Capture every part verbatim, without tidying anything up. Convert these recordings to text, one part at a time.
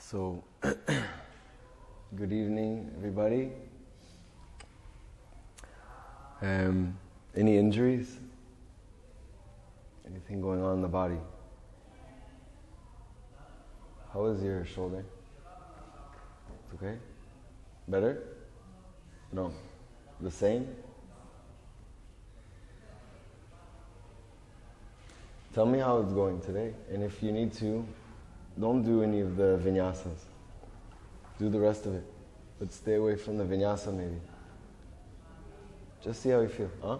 So, good evening, everybody. Um, any injuries? Anything going on in the body? How is your shoulder? It's okay? Better? No. The same? Tell me how it's going today. And if you need to, don't do any of the vinyasas. Do the rest of it. But stay away from the vinyasa maybe. Just see how you feel, huh?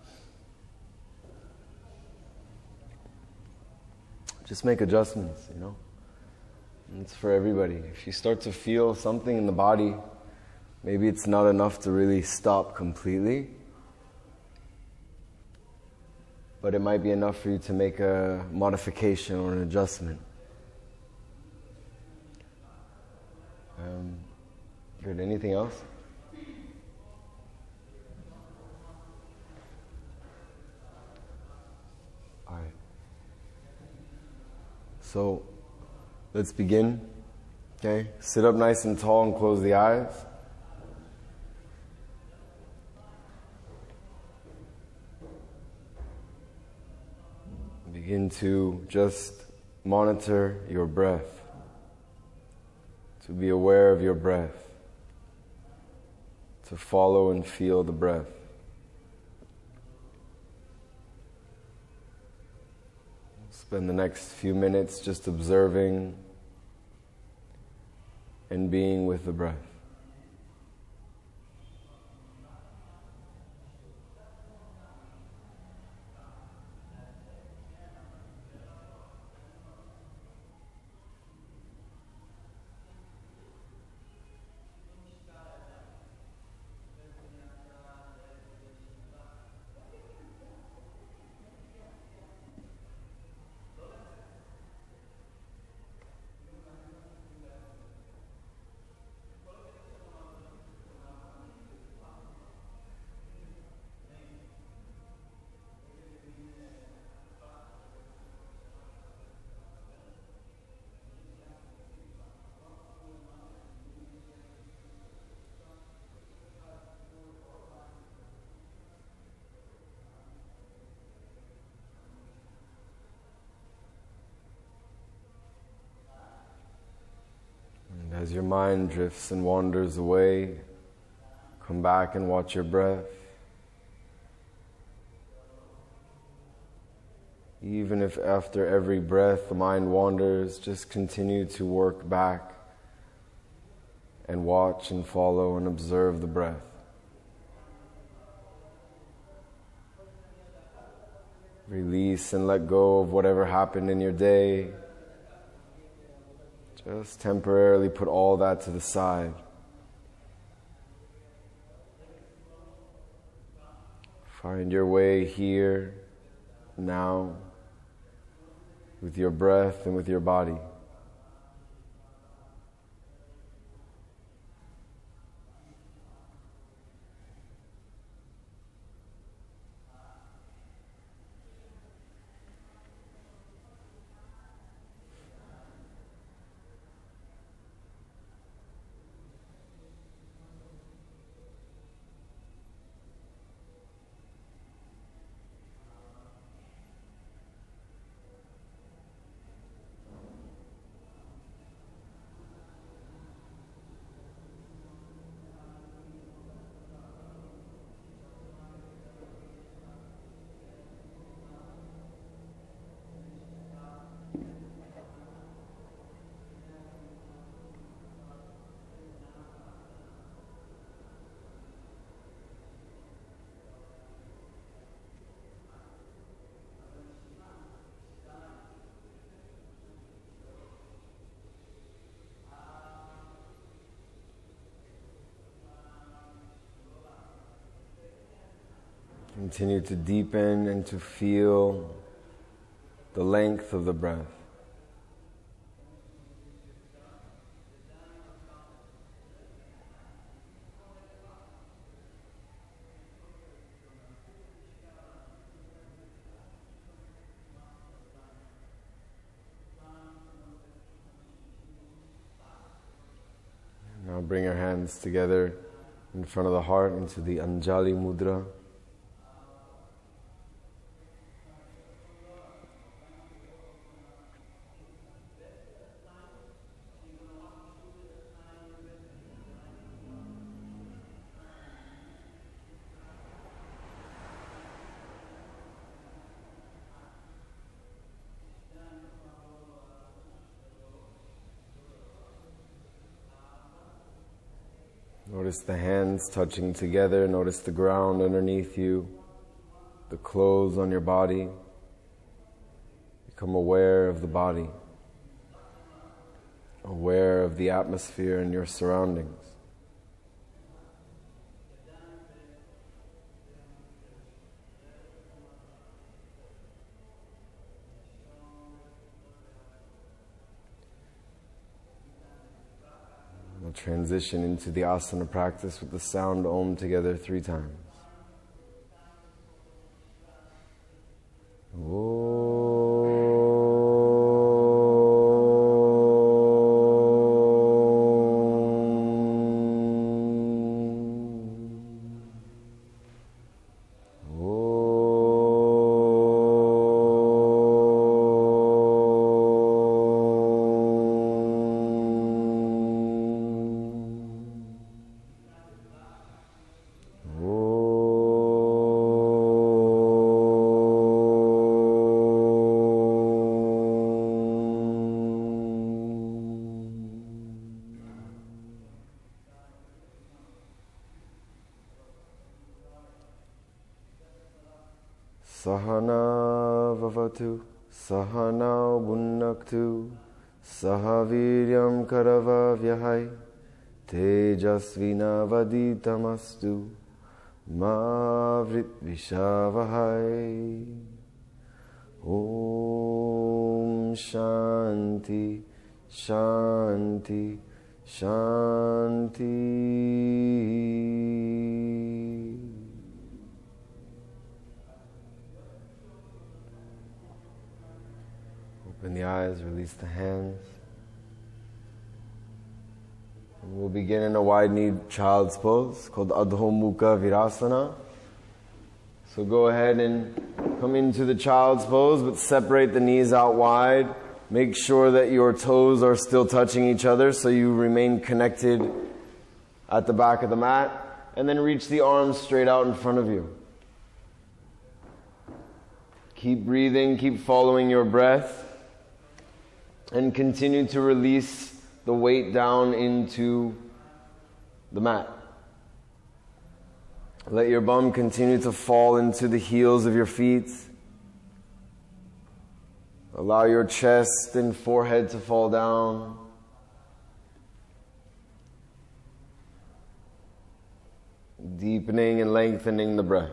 Just make adjustments, you know? And it's for everybody. If you start to feel something in the body, maybe it's not enough to really stop completely, but it might be enough for you to make a modification or an adjustment. Um, good. Anything else? All right. So, let's begin. Okay? Sit up nice and tall and close the eyes. Begin to just monitor your breath. To be aware of your breath. To follow and feel the breath. Spend the next few minutes just observing and being with the breath. As your mind drifts and wanders away, come back and watch your breath. Even if after every breath the mind wanders, just continue to work back and watch and follow and observe the breath. Release and let go of whatever happened in your day. Just temporarily put all that to the side. Find your way here, now, with your breath and with your body. Continue to deepen and to feel the length of the breath. bring your hands together in front of the heart into the Anjali Mudra. Notice the hands touching together. Notice the ground underneath you, the clothes on your body. Become aware of the body, aware of the atmosphere and your surroundings. We'll transition into the asana practice with the sound Om together three times. Om. Sahana vavatu, sahana bunnaktu, sahaviryam karavavyahai, tejasvina vaditamastu, ma vritvishavahai. Om Shanti, Shanti, Shanti. Open the eyes, release the hands. And we'll begin in a wide-kneed child's pose called Adho Mukha Virasana. So go ahead and come into the child's pose, but separate the knees out wide. Make sure that your toes are still touching each other so you remain connected at the back of the mat. And then reach the arms straight out in front of you. Keep breathing, keep following your breath. And continue to release the weight down into the mat. Let your bum continue to fall into the heels of your feet. Allow your chest and forehead to fall down. Deepening and lengthening the breath.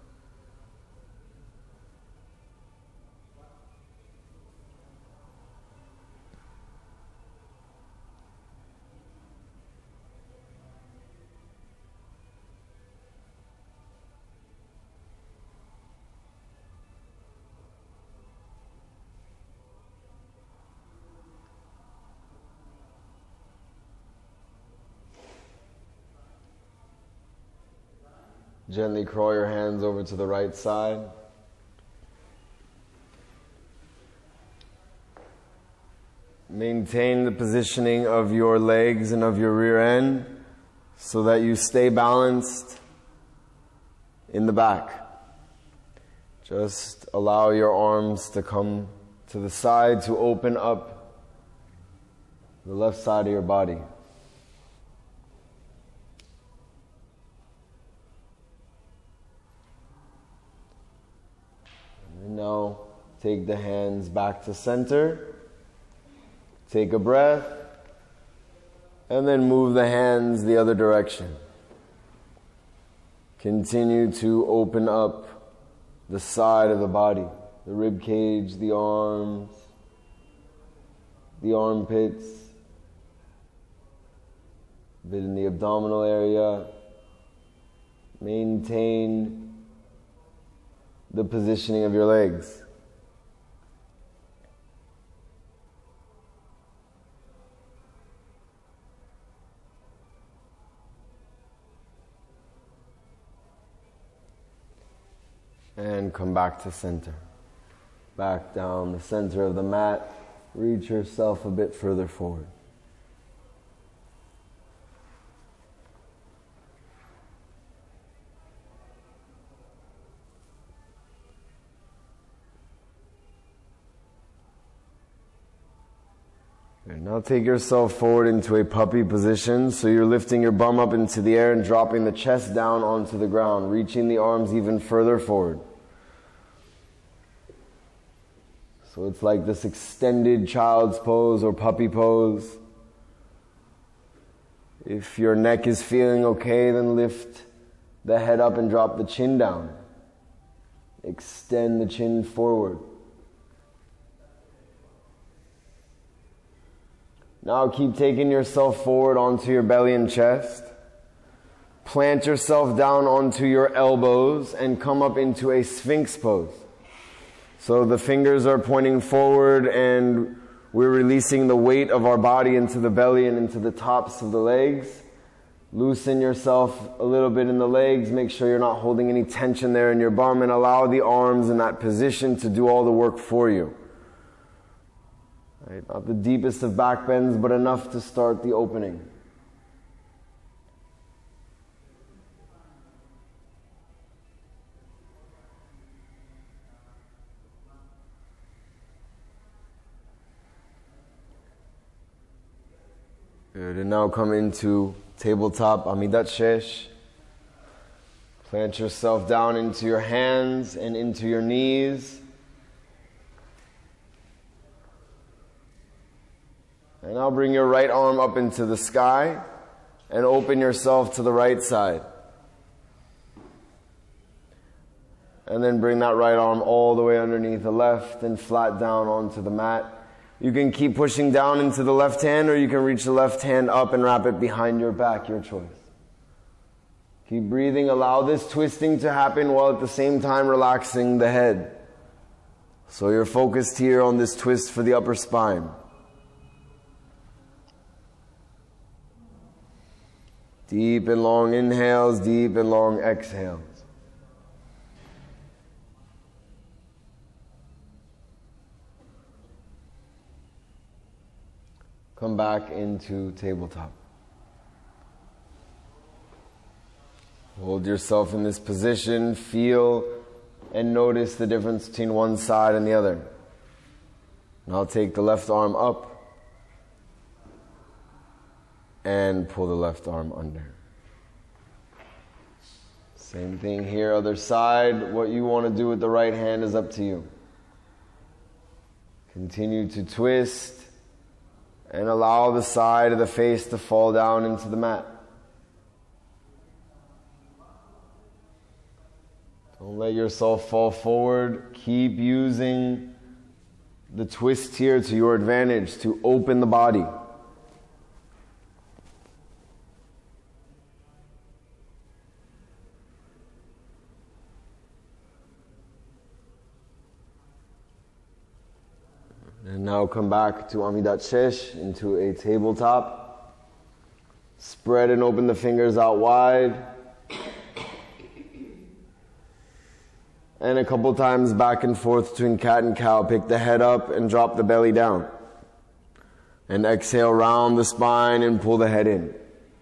Gently crawl your hands over to the right side. Maintain the positioning of your legs and of your rear end so that you stay balanced in the back. Just allow your arms to come to the side to open up the left side of your body. Now, take the hands back to center. Take a breath. And then move the hands the other direction. Continue to open up the side of the body. The rib cage, the arms, the armpits, a bit in the abdominal area. Maintain the positioning of your legs. And come back to center. Back down the center of the mat. Reach yourself a bit further forward. And now take yourself forward into a puppy position. So you're lifting your bum up into the air and dropping the chest down onto the ground, reaching the arms even further forward. So it's like this extended child's pose or puppy pose. If your neck is feeling okay, then lift the head up and drop the chin down. Extend the chin forward. Now keep taking yourself forward onto your belly and chest. Plant yourself down onto your elbows and come up into a Sphinx pose. So the fingers are pointing forward and we're releasing the weight of our body into the belly and into the tops of the legs. Loosen yourself a little bit in the legs. Make sure you're not holding any tension there in your bum, and allow the arms in that position to do all the work for you. Right? Not the deepest of back bends, but enough to start the opening. Good, and now come into tabletop Amidat Shesh. Plant yourself down into your hands and into your knees. And now bring your right arm up into the sky and open yourself to the right side. And then bring that right arm all the way underneath the left and flat down onto the mat. You can keep pushing down into the left hand, or you can reach the left hand up and wrap it behind your back, your choice. Keep breathing. Allow this twisting to happen while at the same time relaxing the head. So you're focused here on this twist for the upper spine. Deep and long inhales, deep and long exhales. Come back into tabletop. Hold yourself in this position, feel and notice the difference between one side and the other. Now take the left arm up and pull the left arm under. Same thing here, other side. What you want to do with the right hand is up to you. Continue to twist and allow the side of the face to fall down into the mat. Don't let yourself fall forward. Keep using the twist here to your advantage to open the body. And now come back to Amidat Shesh, into a tabletop. Spread and open the fingers out wide. And a couple times back and forth between cat and cow. Pick the head up and drop the belly down. And exhale, round the spine and pull the head in.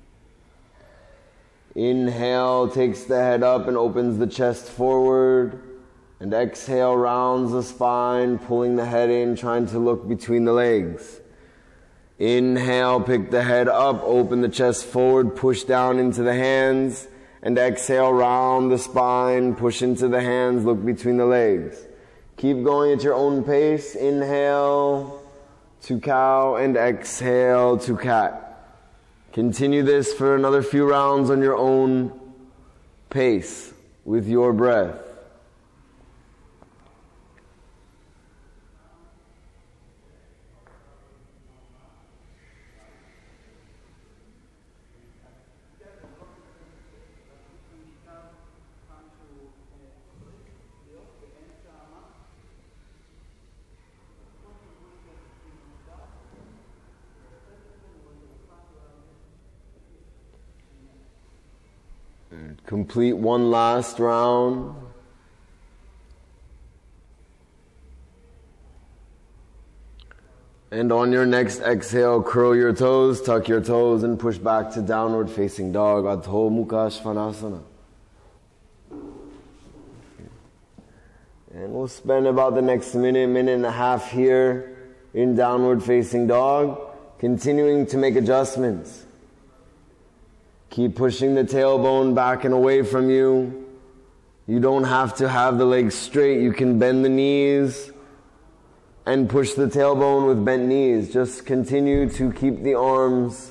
Inhale, takes the head up and opens the chest forward. And exhale, rounds the spine, pulling the head in, trying to look between the legs. Inhale, pick the head up, open the chest forward, push down into the hands. And exhale, round the spine, push into the hands, look between the legs. Keep going at your own pace. Inhale to cow and exhale to cat. Continue this for another few rounds on your own pace with your breath. Complete one last round. And on your next exhale, curl your toes, tuck your toes, and push back to downward facing dog, Adho Mukha Svanasana. And we'll spend about the next minute, minute and a half here in downward facing dog, continuing to make adjustments. Keep pushing the tailbone back and away from you. You don't have to have the legs straight. You can bend the knees and push the tailbone with bent knees. Just continue to keep the arms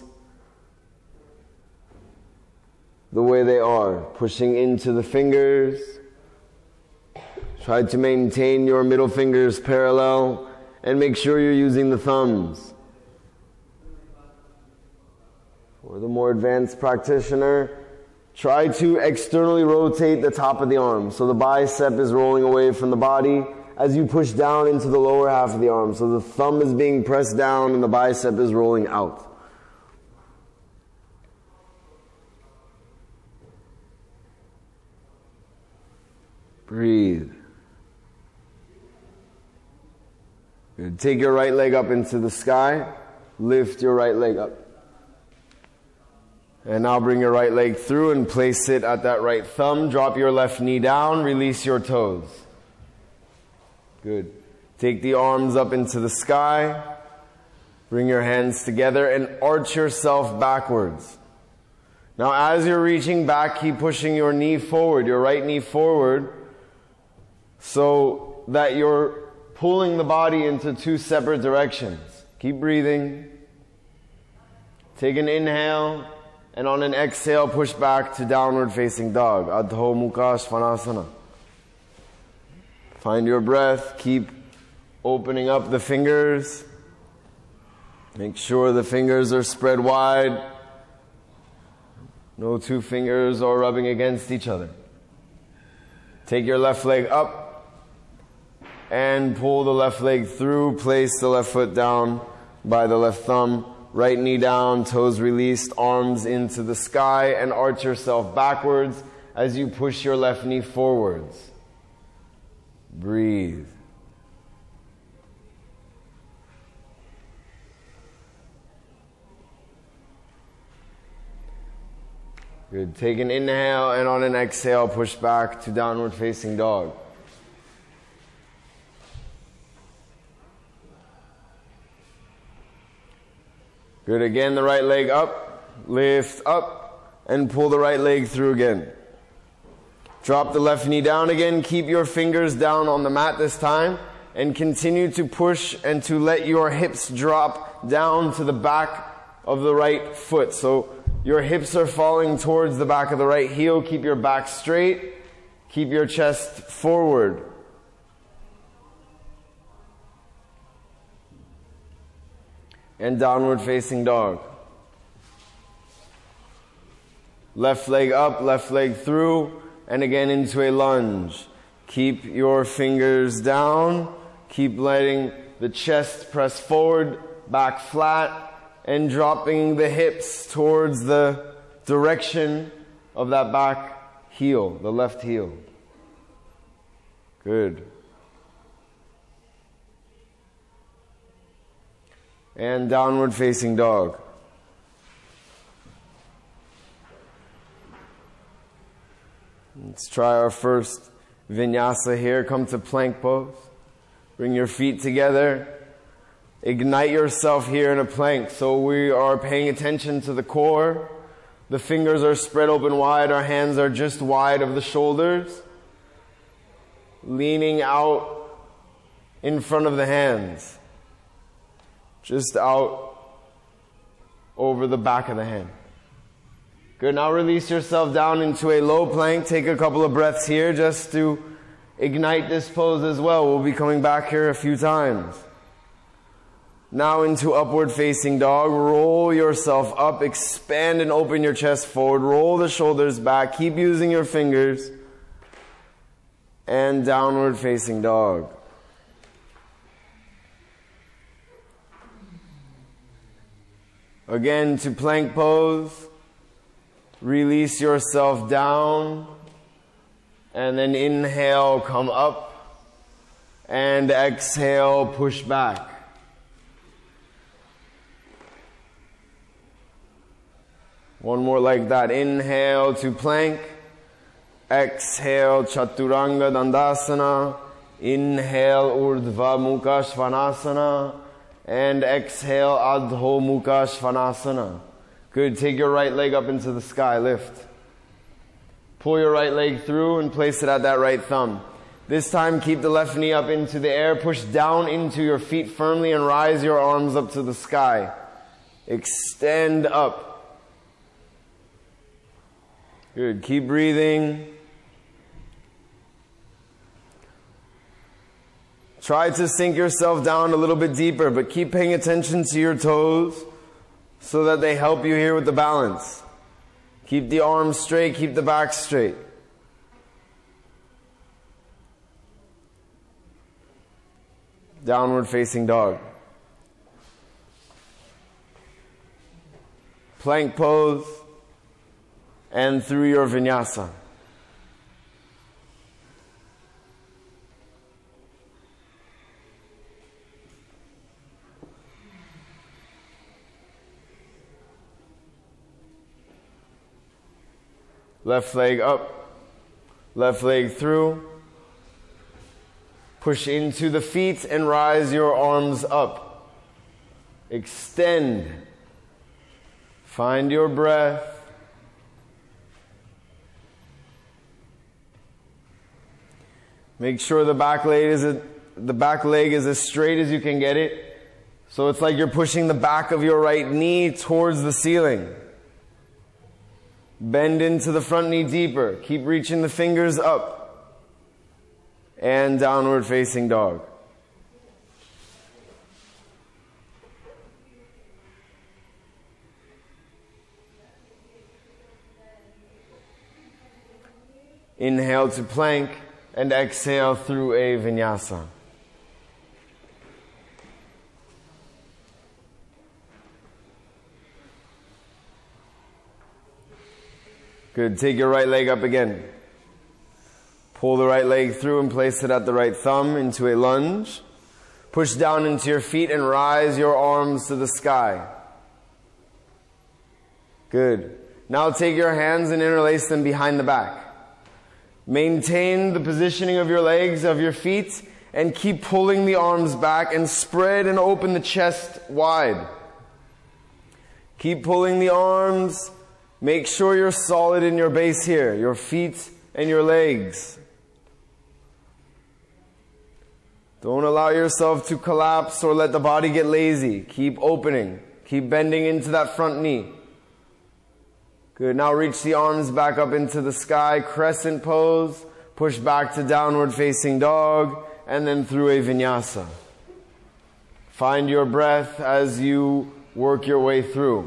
the way they are, pushing into the fingers. Try to maintain your middle fingers parallel and make sure you're using the thumbs. For the more advanced practitioner, try to externally rotate the top of the arm. So the bicep is rolling away from the body as you push down into the lower half of the arm. So the thumb is being pressed down and the bicep is rolling out. Breathe. Good. Take your right leg up into the sky. Lift your right leg up. And now bring your right leg through and place it at that right thumb. Drop your left knee down. Release your toes. Good. Take the arms up into the sky. Bring your hands together and arch yourself backwards. Now as you're reaching back, keep pushing your knee forward, your right knee forward, so that you're pulling the body into two separate directions. Keep breathing. Take an inhale, and on an exhale, push back to downward facing dog, Adho Mukha Svanasana. Find your breath. Keep opening up the fingers. Make sure the fingers are spread wide. No two fingers are rubbing against each other. Take your left leg up and pull the left leg through. Place the left foot down by the left thumb. Right knee down, toes released, arms into the sky, and arch yourself backwards as you push your left knee forwards. Breathe. Good. Take an inhale, and on an exhale, push back to downward facing dog. Good. Again, the right leg up, lift up, and pull the right leg through again. Drop the left knee down again. Keep your fingers down on the mat this time, and continue to push and to let your hips drop down to the back of the right foot. So your hips are falling towards the back of the right heel. Keep your back straight. Keep your chest forward. And downward facing dog. Left leg up, left leg through, and again into a lunge. Keep your fingers down. Keep letting the chest press forward, back flat, and dropping the hips towards the direction of that back heel, the left heel. Good. And downward facing dog. Let's try our first vinyasa here. Come to plank pose. Bring your feet together. Ignite yourself here in a plank. So we are paying attention to the core. The fingers are spread open wide. Our hands are just wide of the shoulders. Leaning out in front of the hands. Just out over the back of the hand. Good. Now release yourself down into a low plank. Take a couple of breaths here just to ignite this pose as well. We'll be coming back here a few times. Now into upward facing dog. Roll yourself up. Expand and open your chest forward. Roll the shoulders back. Keep using your fingers. And downward facing dog. Again to plank pose. Release yourself down. And then inhale, come up. And exhale, push back. One more like that. Inhale to plank. Exhale, Chaturanga Dandasana. Inhale, Urdhva Mukha Svanasana. And exhale, Adho Mukha Svanasana. Good. Take your right leg up into the sky. Lift. Pull your right leg through and place it at that right thumb. This time, keep the left knee up into the air. Push down into your feet firmly and rise your arms up to the sky. Extend up. Good. Keep breathing. Try to sink yourself down a little bit deeper, but keep paying attention to your toes so that they help you here with the balance. Keep the arms straight, keep the back straight. Downward facing dog. Plank pose and through your vinyasa. Left leg up, left leg through. Push into the feet and rise your arms up. Extend. Find your breath. Make sure the back leg is a, the back leg is as straight as you can get it. So it's like you're pushing the back of your right knee towards the ceiling. Bend into the front knee deeper. Keep reaching the fingers up. And downward facing dog. Inhale to plank and exhale through a vinyasa. Good. Take your right leg up again. Pull the right leg through and place it at the right thumb into a lunge. Push down into your feet and rise your arms to the sky. Good. Now take your hands and interlace them behind the back. Maintain the positioning of your legs, of your feet, and keep pulling the arms back and spread and open the chest wide. Keep pulling the arms. Make sure you're solid in your base here, your feet and your legs. Don't allow yourself to collapse or let the body get lazy. Keep opening. Keep bending into that front knee. Good. Now reach the arms back up into the sky. Crescent pose. Push back to downward facing dog. And then through a vinyasa. Find your breath as you work your way through.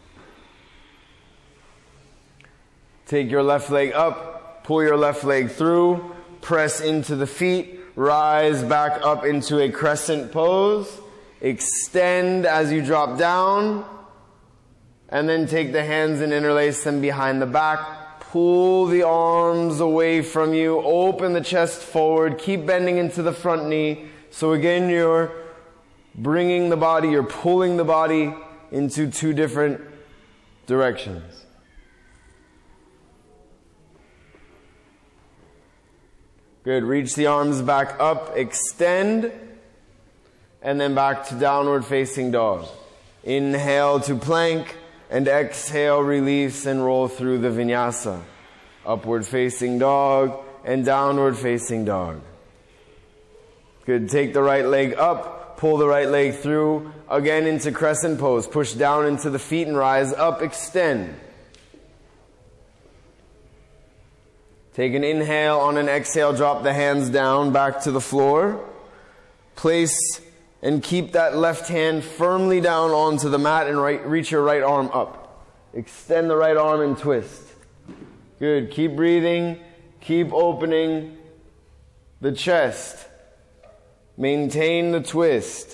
Take your left leg up. Pull your left leg through. Press into the feet. Rise back up into a crescent pose. Extend as you drop down. And then take the hands and interlace them behind the back. Pull the arms away from you. Open the chest forward. Keep bending into the front knee. So again, you're bringing the body, you're pulling the body into two different directions. Good. Reach the arms back up. Extend. And then back to downward facing dog. Inhale to plank. And exhale, release and roll through the vinyasa. Upward facing dog and downward facing dog. Good. Take the right leg up. Pull the right leg through. Again into crescent pose. Push down into the feet and rise up. Extend. Take an inhale. On an exhale, drop the hands down back to the floor. Place and keep that left hand firmly down onto the mat and right, reach your right arm up. Extend the right arm and twist. Good. Keep breathing. Keep opening the chest. Maintain the twist.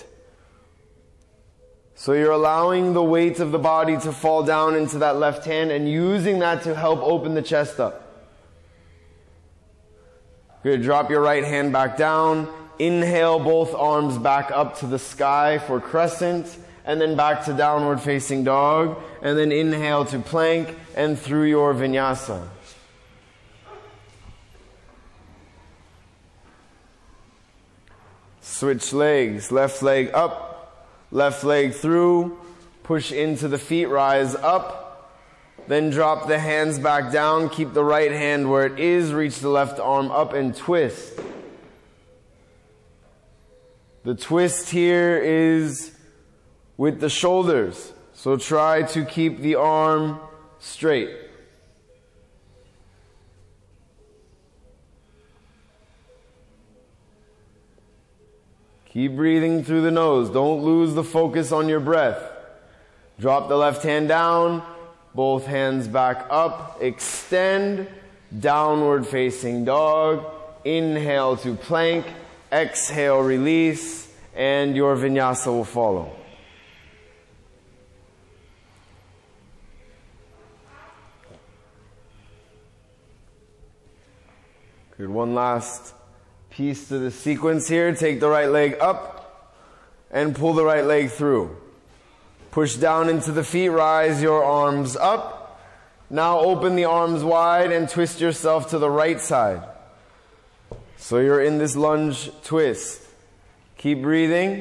So you're allowing the weight of the body to fall down into that left hand and using that to help open the chest up. Good. Drop your right hand back down. Inhale both arms back up to the sky for crescent. and then back to downward facing dog, and then inhale to plank and through your vinyasa. Switch legs, left leg up, left leg through, push into the feet, rise up, then drop the hands back down, keep the right hand where it is, reach the left arm up and twist. The twist here is with the shoulders, so try to keep the arm straight. Keep breathing through the nose. Don't lose the focus on your breath. Drop the left hand down, both hands back up, extend, downward facing dog, inhale to plank, exhale, release, and your vinyasa will follow. Good, one last piece to the sequence here. Take the right leg up and pull the right leg through. Push down into the feet, rise your arms up. Now open the arms wide and twist yourself to the right side. So you're in this lunge twist. Keep breathing.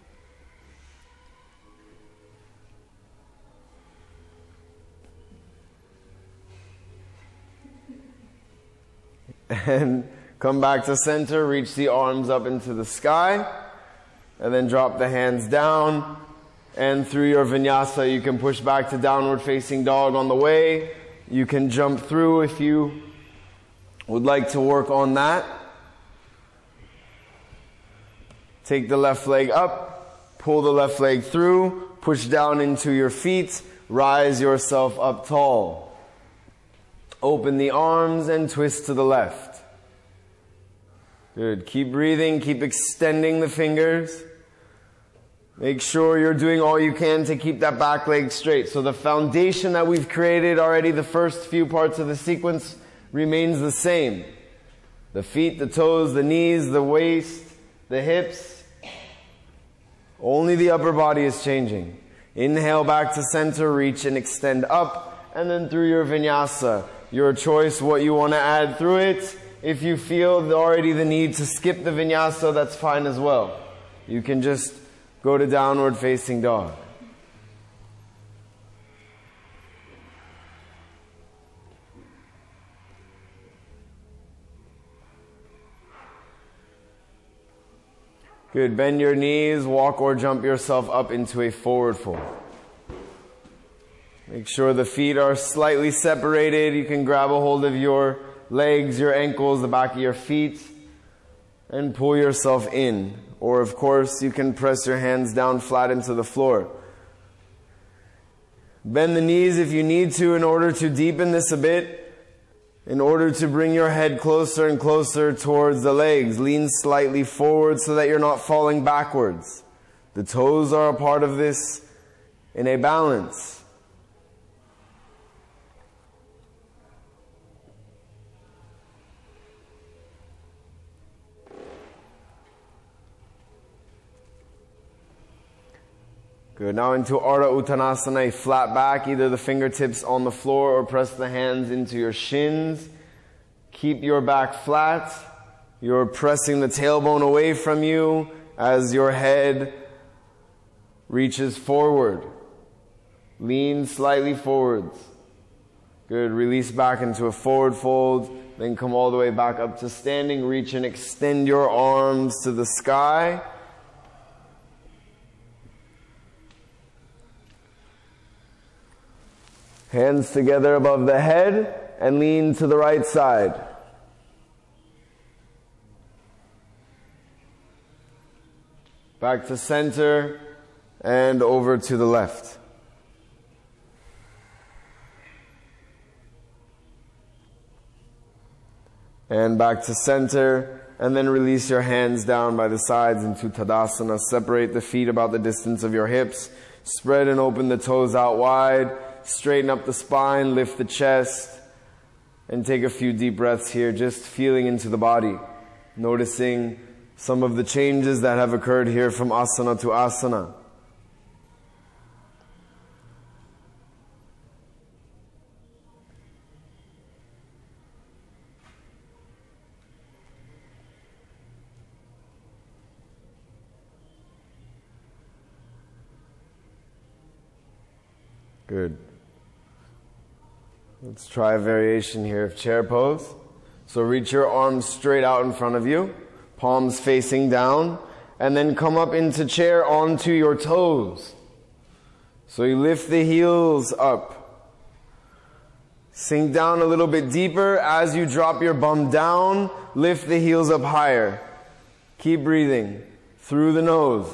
And come back to center, reach the arms up into the sky, and then drop the hands down. And through your vinyasa, you can push back to downward facing dog on the way. You can jump through if you would like to work on that. Take the left leg up, pull the left leg through, push down into your feet, rise yourself up tall. Open the arms and twist to the left. Good. Keep breathing, keep extending the fingers. Make sure you're doing all you can to keep that back leg straight. So the foundation that we've created already, the first few parts of the sequence, remains the same. The feet, the toes, the knees, the waist, the hips. Only the upper body is changing. Inhale back to center, reach and extend up, and then through your vinyasa. Your choice what you want to add through it. If you feel already the need to skip the vinyasa, that's fine as well. You can just go to downward facing dog. Good. Bend your knees, walk or jump yourself up into a forward fold. Make sure the feet are slightly separated. You can grab a hold of your legs, your ankles, the back of your feet, and pull yourself in. Or, of course, you can press your hands down flat into the floor. Bend the knees if you need to in order to deepen this a bit. In order to bring your head closer and closer towards the legs. Lean slightly forward so that you're not falling backwards. The toes are a part of this in a balance. Good. Now into Ardha Uttanasana, a flat back, either the fingertips on the floor or press the hands into your shins. Keep your back flat. You're pressing the tailbone away from you as your head reaches forward. Lean slightly forwards. Good. Release back into a forward fold. Then come all the way back up to standing. Reach and extend your arms to the sky. Hands together above the head and lean to the right side. Back to center and over to the left. And back to center, and then release your hands down by the sides into Tadasana. Separate the feet about the distance of your hips. Spread and open the toes out wide. Straighten up the spine, lift the chest, and take a few deep breaths here, just feeling into the body. Noticing some of the changes that have occurred here from asana to asana. Good. Let's try a variation here of chair pose. So reach your arms straight out in front of you, palms facing down, and then come up into chair onto your toes. So you lift the heels up. Sink down a little bit deeper. As you drop your bum down, lift the heels up higher. Keep breathing through the nose.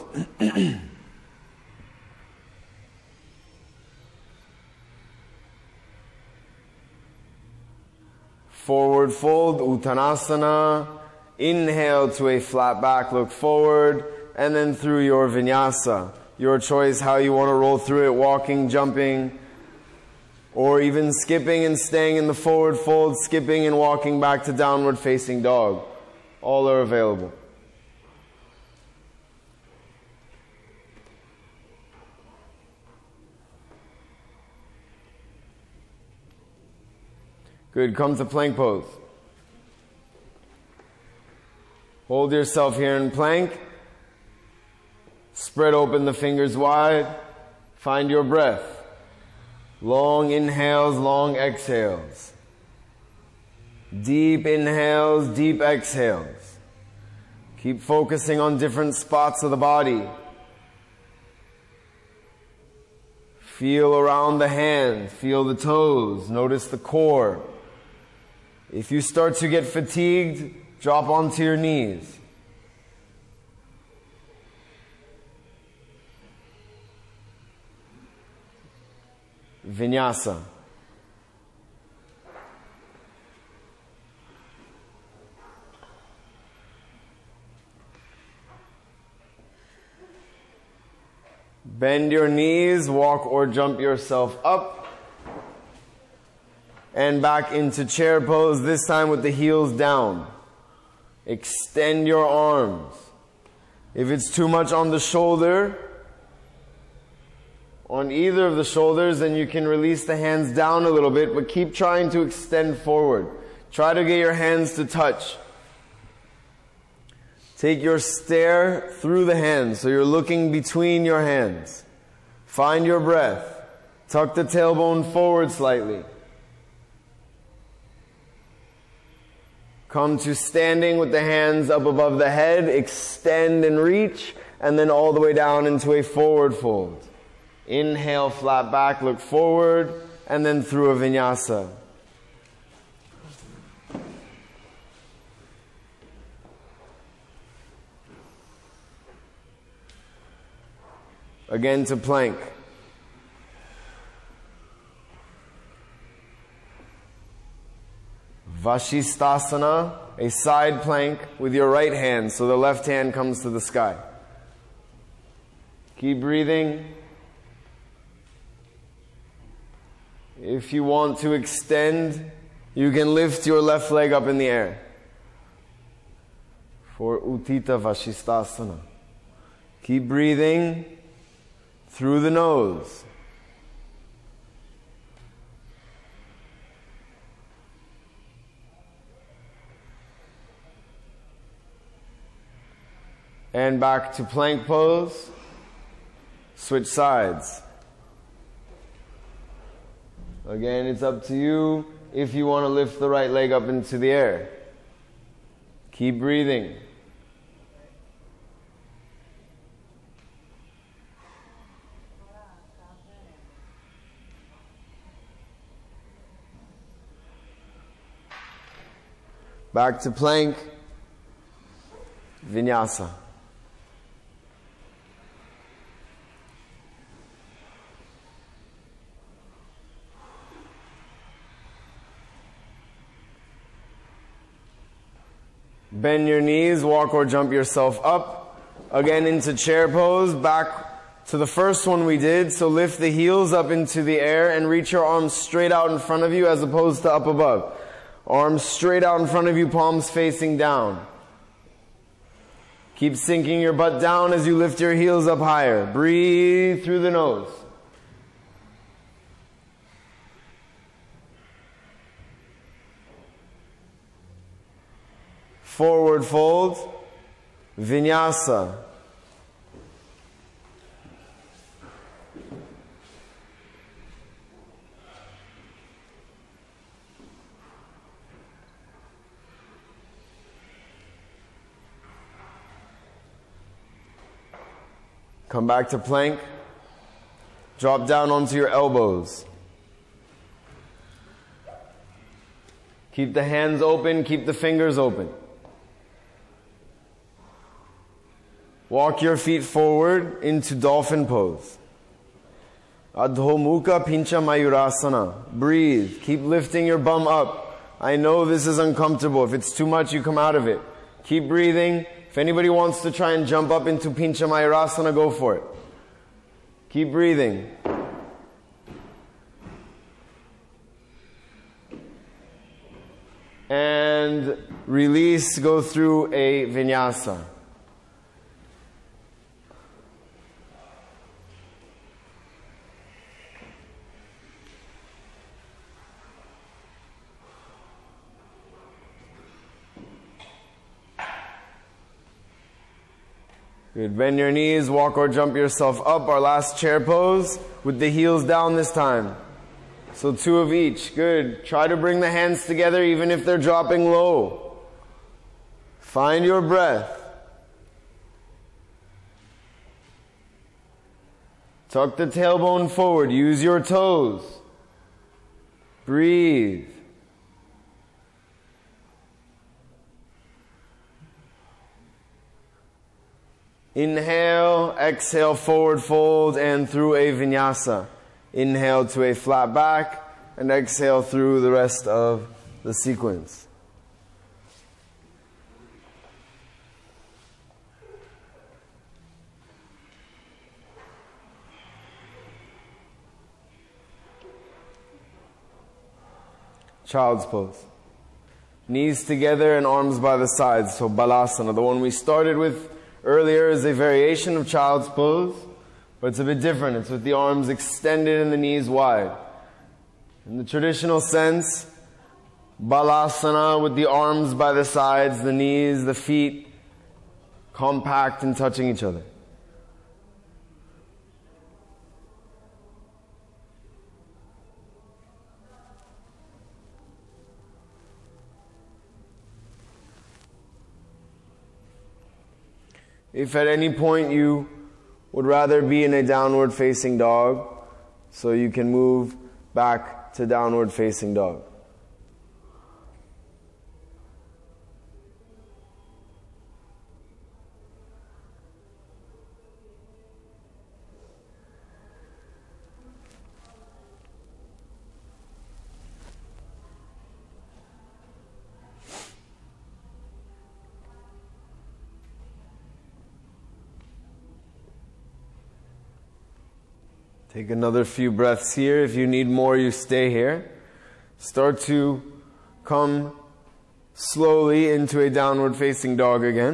Forward fold, Uttanasana. Inhale to a flat back, look forward, and then through your vinyasa. Your choice how you want to roll through it, walking, jumping, or even skipping and staying in the forward fold, skipping and walking back to downward facing dog. All are available. Good, come to plank pose. Hold yourself here in plank. Spread open the fingers wide. Find your breath. Long inhales, long exhales. Deep inhales, deep exhales. Keep focusing on different spots of the body. Feel around the hand, feel the toes, notice the core. If you start to get fatigued, drop onto your knees. Vinyasa. Bend your knees, walk or jump yourself up. And back into chair pose, this time with the heels down. Extend your arms. If it's too much on the shoulder, on either of the shoulders, then you can release the hands down a little bit, but keep trying to extend forward. Try to get your hands to touch. Take your stare through the hands, so you're looking between your hands. Find your breath. Tuck the tailbone forward slightly. Come to standing with the hands up above the head, extend and reach, and then all the way down into a forward fold. Inhale, flat back, look forward, and then through a vinyasa. Again to plank. Vashisthasana, a side plank with your right hand, so the left hand comes to the sky. Keep breathing. If you want to extend, you can lift your left leg up in the air for Utthita Vashisthasana. Keep breathing through the nose. And back to plank pose. Switch sides. Again, it's up to you if you want to lift the right leg up into the air. Keep breathing. Back to plank. Vinyasa. Bend your knees, walk or jump yourself up. Again into chair pose, back to the first one we did. So lift the heels up into the air and reach your arms straight out in front of you as opposed to up above. Arms straight out in front of you, palms facing down. Keep sinking your butt down as you lift your heels up higher. Breathe through the nose. Forward fold, vinyasa. Come back to plank. Drop down onto your elbows. Keep the hands open, keep the fingers open. Walk your feet forward into dolphin pose. Adho Mukha Pincha Mayurasana. Breathe. Keep lifting your bum up. I know this is uncomfortable. If it's too much, you come out of it. Keep breathing. If anybody wants to try and jump up into Pincha Mayurasana, go for it. Keep breathing. And release, go through a vinyasa. Good. Bend your knees, walk or jump yourself up. Our last chair pose with the heels down this time. So two of each. Good. Try to bring the hands together even if they're dropping low. Find your breath. Tuck the tailbone forward. Use your toes. Breathe. Inhale, exhale, forward fold and through a vinyasa. Inhale to a flat back and exhale through the rest of the sequence. Child's pose. Knees together and arms by the sides. So Balasana, the one we started with earlier, is a variation of child's pose, but it's a bit different. It's with the arms extended and the knees wide. In the traditional sense, Balasana with the arms by the sides, the knees, the feet compact and touching each other. If at any point you would rather be in a downward facing dog, so you can move back to downward facing dog. Take another few breaths here. If you need more, you stay here. Start to come slowly into a downward facing dog again.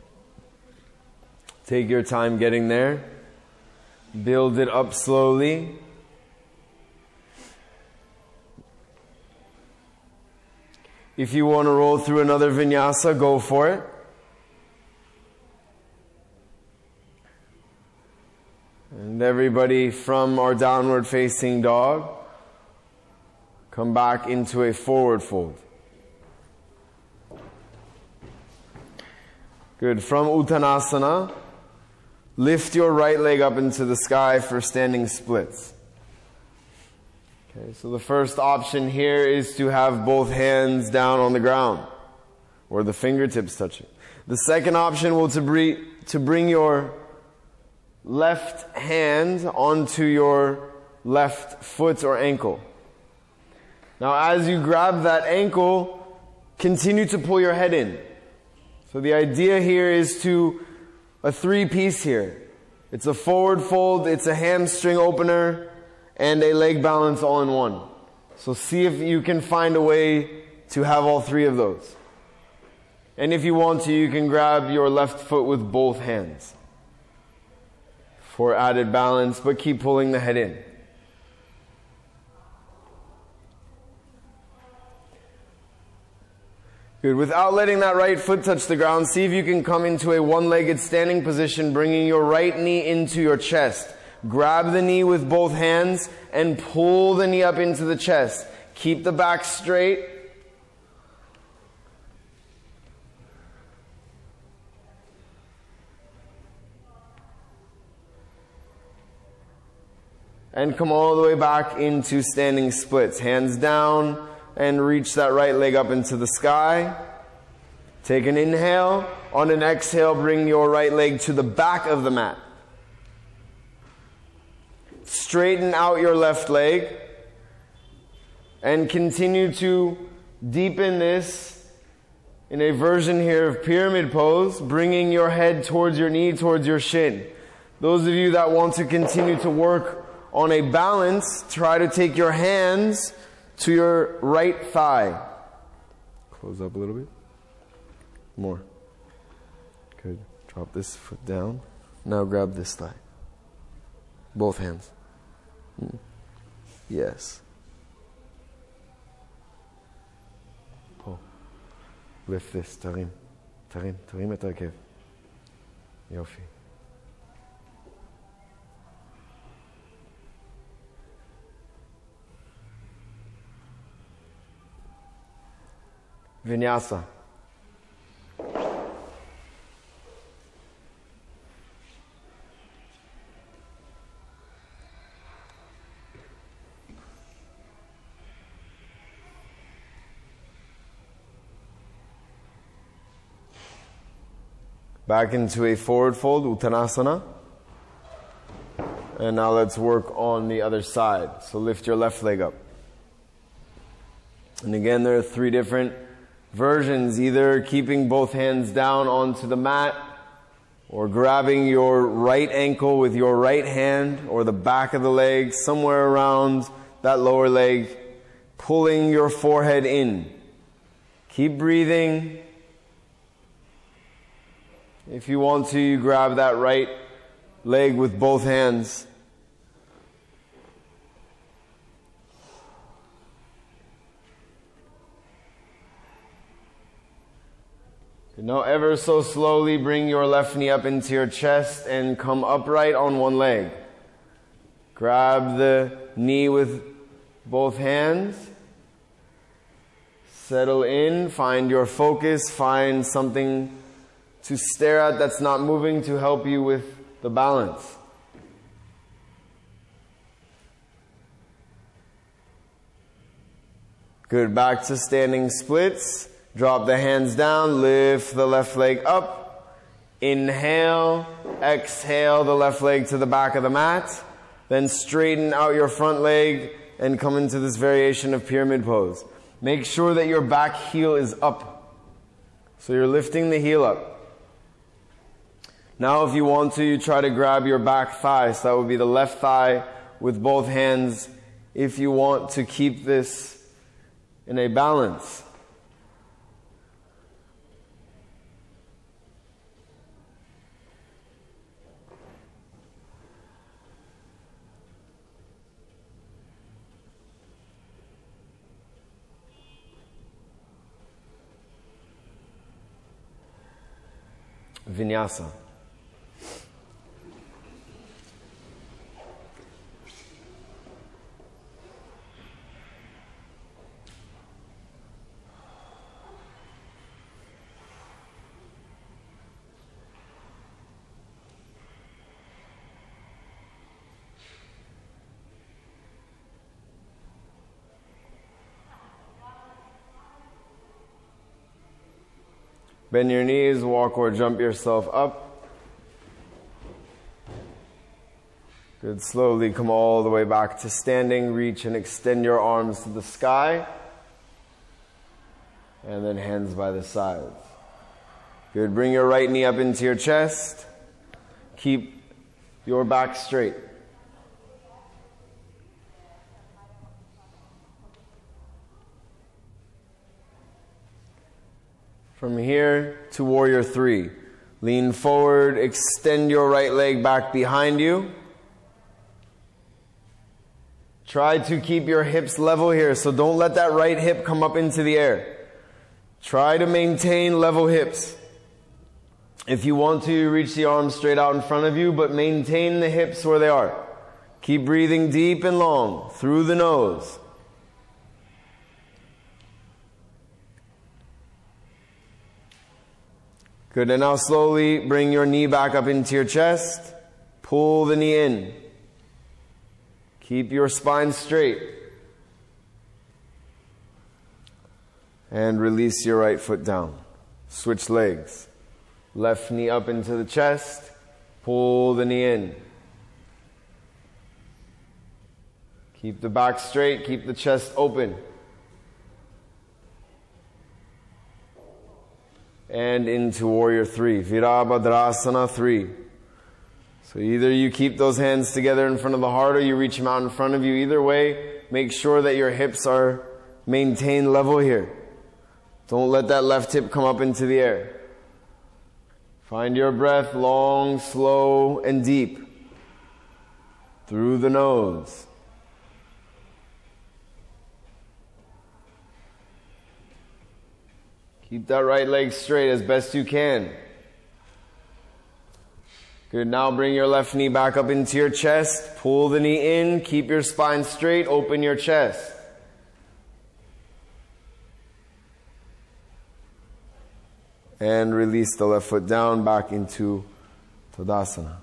Take your time getting there. Build it up slowly. If you want to roll through another vinyasa, go for it. And everybody from our downward facing dog, come back into a forward fold. Good. From Uttanasana, lift your right leg up into the sky for standing splits. Okay, so the first option here is to have both hands down on the ground, or the fingertips touching. The second option will to bring, to bring your left hand onto your left foot or ankle. Now as you grab that ankle, continue to pull your head in. So the idea here is to a three piece here. It's a forward fold, it's a hamstring opener, and a leg balance all in one. So see if you can find a way to have all three of those. And if you want to, you can grab your left foot with both hands for added balance, but keep pulling the head in. Good. Without letting that right foot touch the ground, see if you can come into a one-legged standing position, bringing your right knee into your chest. Grab the knee with both hands and pull the knee up into the chest. Keep the back straight. and come all the way back into standing splits. Hands down and reach that right leg up into the sky. Take an inhale. On an exhale, bring your right leg to the back of the mat. Straighten out your left leg and continue to deepen this in a version here of pyramid pose, bringing your head towards your knee, towards your shin. Those of you that want to continue to work on a balance, try to take your hands to your right thigh. Close up a little bit. More. Good. Drop this foot down. Now grab this thigh. Both hands. Mm. Yes. Pull. Lift this. Tarim. Tarim. Tarim et הרכב. יופי. Vinyasa. Back into a forward fold, Uttanasana. And now let's work on the other side. So lift your left leg up. And again, there are three different versions, either keeping both hands down onto the mat, or grabbing your right ankle with your right hand, or the back of the leg, somewhere around that lower leg, pulling your forehead in. Keep breathing. If you want to, you grab that right leg with both hands. Now ever so slowly bring your left knee up into your chest and come upright on one leg. Grab the knee with both hands. Settle in, find your focus, find something to stare at that's not moving to help you with the balance. Good, back to standing splits. Drop the hands down, lift the left leg up. Inhale, exhale the left leg to the back of the mat. Then straighten out your front leg and come into this variation of pyramid pose. Make sure that your back heel is up. So you're lifting the heel up. Now if you want to, you try to grab your back thigh. So that would be the left thigh with both hands if you want to keep this in a balance. Vinyasa. Bend your knees, walk or jump yourself up. Good, slowly come all the way back to standing. Reach and extend your arms to the sky. And then hands by the sides. Good, bring your right knee up into your chest. Keep your back straight. From here to warrior three. Lean forward, extend your right leg back behind you. Try to keep your hips level here, so don't let that right hip come up into the air. Try to maintain level hips. If you want to, reach the arms straight out in front of you, but maintain the hips where they are. Keep breathing deep and long through the nose. Good, and now slowly bring your knee back up into your chest. Pull the knee in. Keep your spine straight. And release your right foot down. Switch legs. Left knee up into the chest. Pull the knee in. Keep the back straight. Keep the chest open. And into Warrior Three. Virabhadrasana Three. So either you keep those hands together in front of the heart or you reach them out in front of you. Either way, make sure that your hips are maintained level here. Don't let that left hip come up into the air. Find your breath long, slow, and deep. Through the nose. Keep that right leg straight as best you can. Good. Now bring your left knee back up into your chest. Pull the knee in. Keep your spine straight. Open your chest. And release the left foot down back into Tadasana.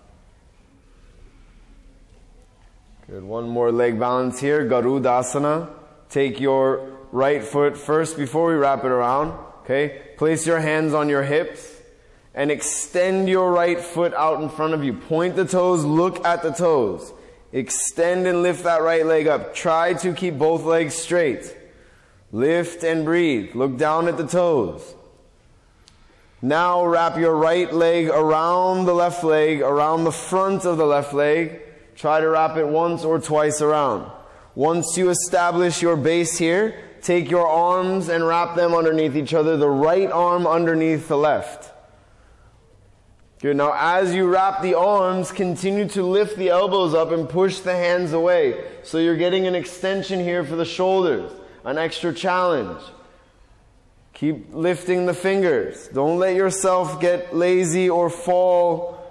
Good. One more leg balance here. Garudasana. Take your right foot first before we wrap it around. Okay. Place your hands on your hips. And extend your right foot out in front of you. Point the toes, look at the toes. Extend and lift that right leg up. Try to keep both legs straight. Lift and breathe. Look down at the toes. Now wrap your right leg around the left leg, around the front of the left leg. Try to wrap it once or twice around. Once you establish your base here, take your arms and wrap them underneath each other. The right arm underneath the left. Good. Now as you wrap the arms, continue to lift the elbows up and push the hands away. So you're getting an extension here for the shoulders. An extra challenge. Keep lifting the fingers. Don't let yourself get lazy or fall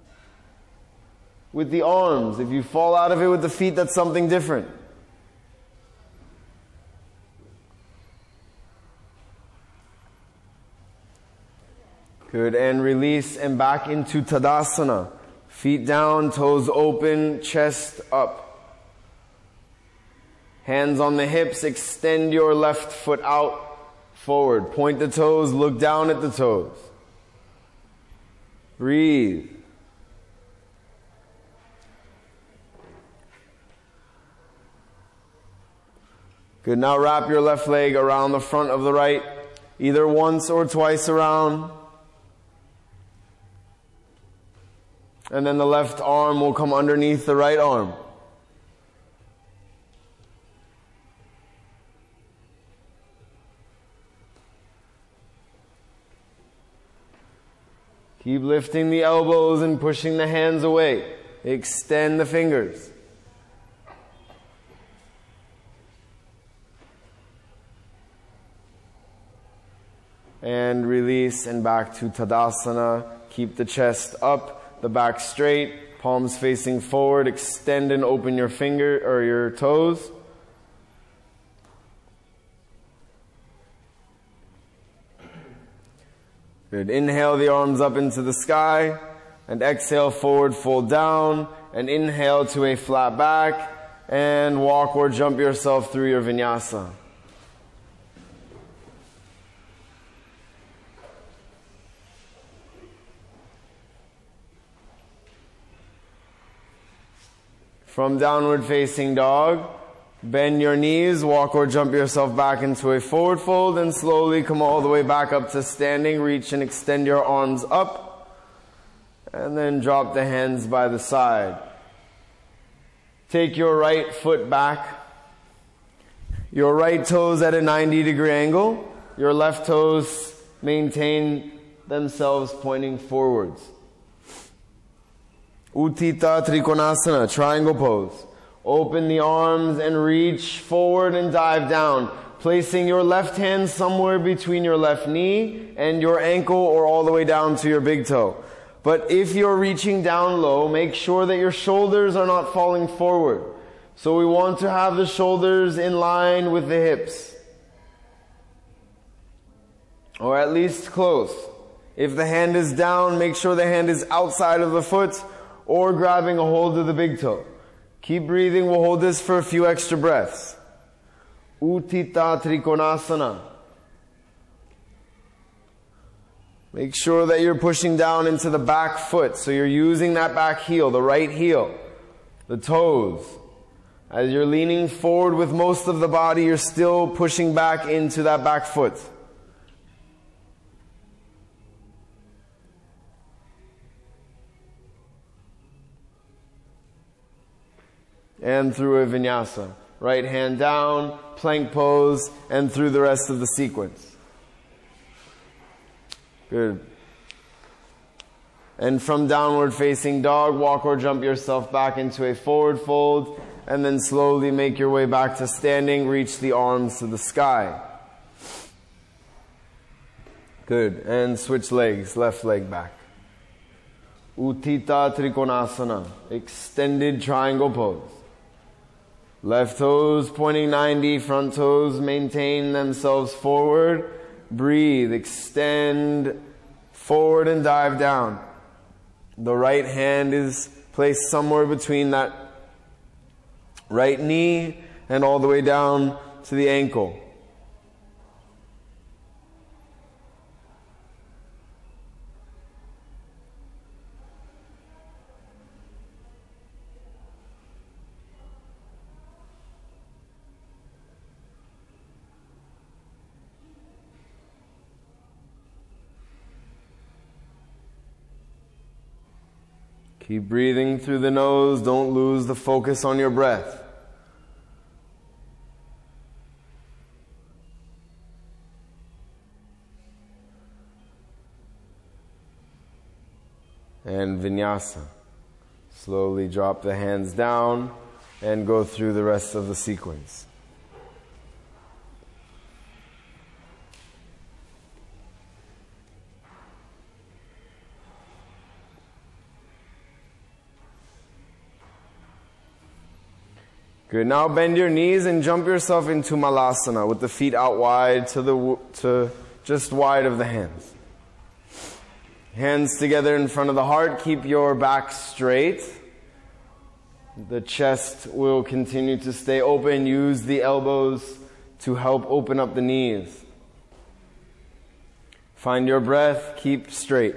with the arms. If you fall out of it with the feet, that's something different. Good, and release and back into Tadasana. Feet down, toes open, chest up. Hands on the hips, extend your left foot out, forward. Point the toes, look down at the toes. Breathe. Good, now wrap your left leg around the front of the right, either once or twice around. And then the left arm will come underneath the right arm. Keep lifting the elbows and pushing the hands away. Extend the fingers. And release and back to Tadasana. Keep the chest up. The back straight, palms facing forward, extend and open your finger or your toes. Good. Inhale the arms up into the sky and exhale forward, fold down and inhale to a flat back and walk or jump yourself through your vinyasa. From downward facing dog, bend your knees, walk or jump yourself back into a forward fold and slowly come all the way back up to standing. Reach and extend your arms up and then drop the hands by the side. Take your right foot back, your right toes at a ninety degree angle, your left toes maintain themselves pointing forwards. Utthita Trikonasana, triangle pose. Open the arms and reach forward and dive down, placing your left hand somewhere between your left knee and your ankle or all the way down to your big toe. But if you're reaching down low, make sure that your shoulders are not falling forward. So we want to have the shoulders in line with the hips. Or at least close. If the hand is down, make sure the hand is outside of the foot or grabbing a hold of the big toe. Keep breathing. We'll hold this for a few extra breaths. Utthita Trikonasana. Make sure that you're pushing down into the back foot. So you're using that back heel, the right heel, the toes. As you're leaning forward with most of the body, you're still pushing back into that back foot. And through a vinyasa. Right hand down, plank pose, and through the rest of the sequence. Good. And from downward facing dog, walk or jump yourself back into a forward fold, and then slowly make your way back to standing. Reach the arms to the sky. Good. And switch legs, left leg back. Utthita Trikonasana, extended triangle pose. Left toes pointing ninety, front toes maintain themselves forward. Breathe, extend forward and dive down. The right hand is placed somewhere between that right knee and all the way down to the ankle. Keep breathing through the nose. Don't lose the focus on your breath. And vinyasa. Slowly drop the hands down and go through the rest of the sequence. Good. Now bend your knees and jump yourself into Malasana with the feet out wide to the to just wide of the hands. Hands together in front of the heart. Keep your back straight. The chest will continue to stay open. Use the elbows to help open up the knees. Find your breath. Keep straight.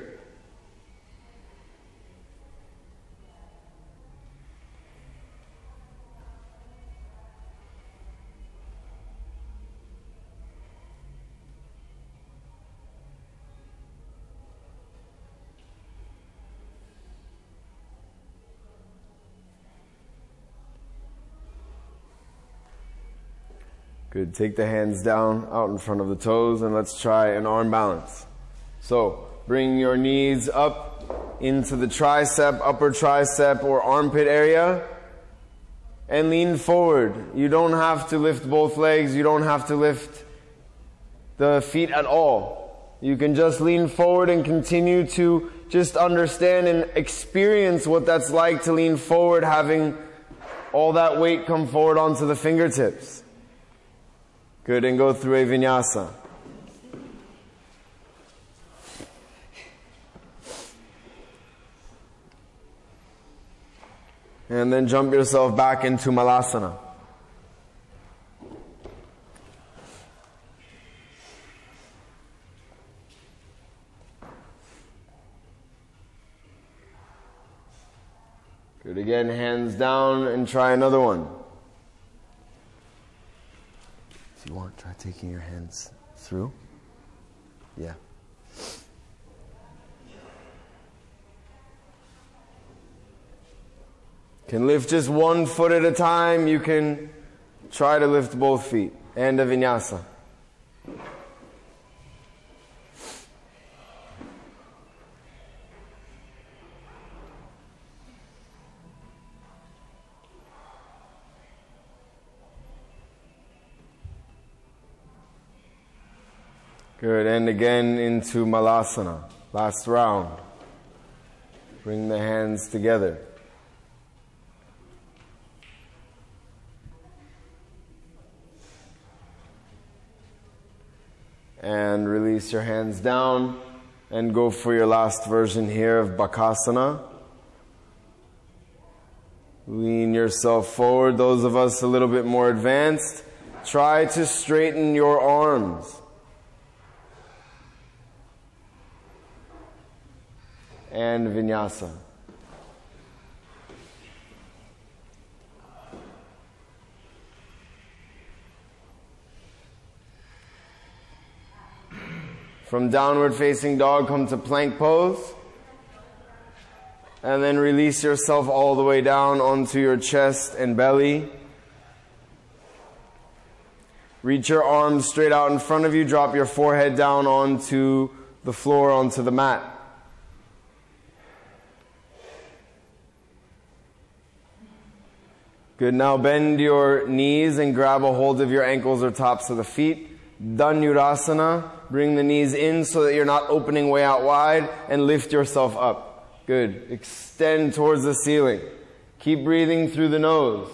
Good. Take the hands down out in front of the toes and let's try an arm balance. So bring your knees up into the tricep, upper tricep or armpit area and lean forward. You don't have to lift both legs. You don't have to lift the feet at all. You can just lean forward and continue to just understand and experience what that's like to lean forward, having all that weight come forward onto the fingertips. Good, and go through a vinyasa. And then jump yourself back into Malasana. Good, again, hands down and try another one. If you want, try taking your hands through. Yeah. Can lift just one foot at a time. You can try to lift both feet. And a vinyasa. Good, and again into Malasana. Last round. Bring the hands together. And release your hands down and go for your last version here of Bakasana. Lean yourself forward. Those of us a little bit more advanced, try to straighten your arms. And vinyasa. From downward facing dog, come to plank pose. And then release yourself all the way down onto your chest and belly. Reach your arms straight out in front of you. Drop your forehead down onto the floor, onto the mat. Good. Now bend your knees and grab a hold of your ankles or tops of the feet. Dhanurasana. Bring the knees in so that you're not opening way out wide, and lift yourself up. Good. Extend towards the ceiling. Keep breathing through the nose.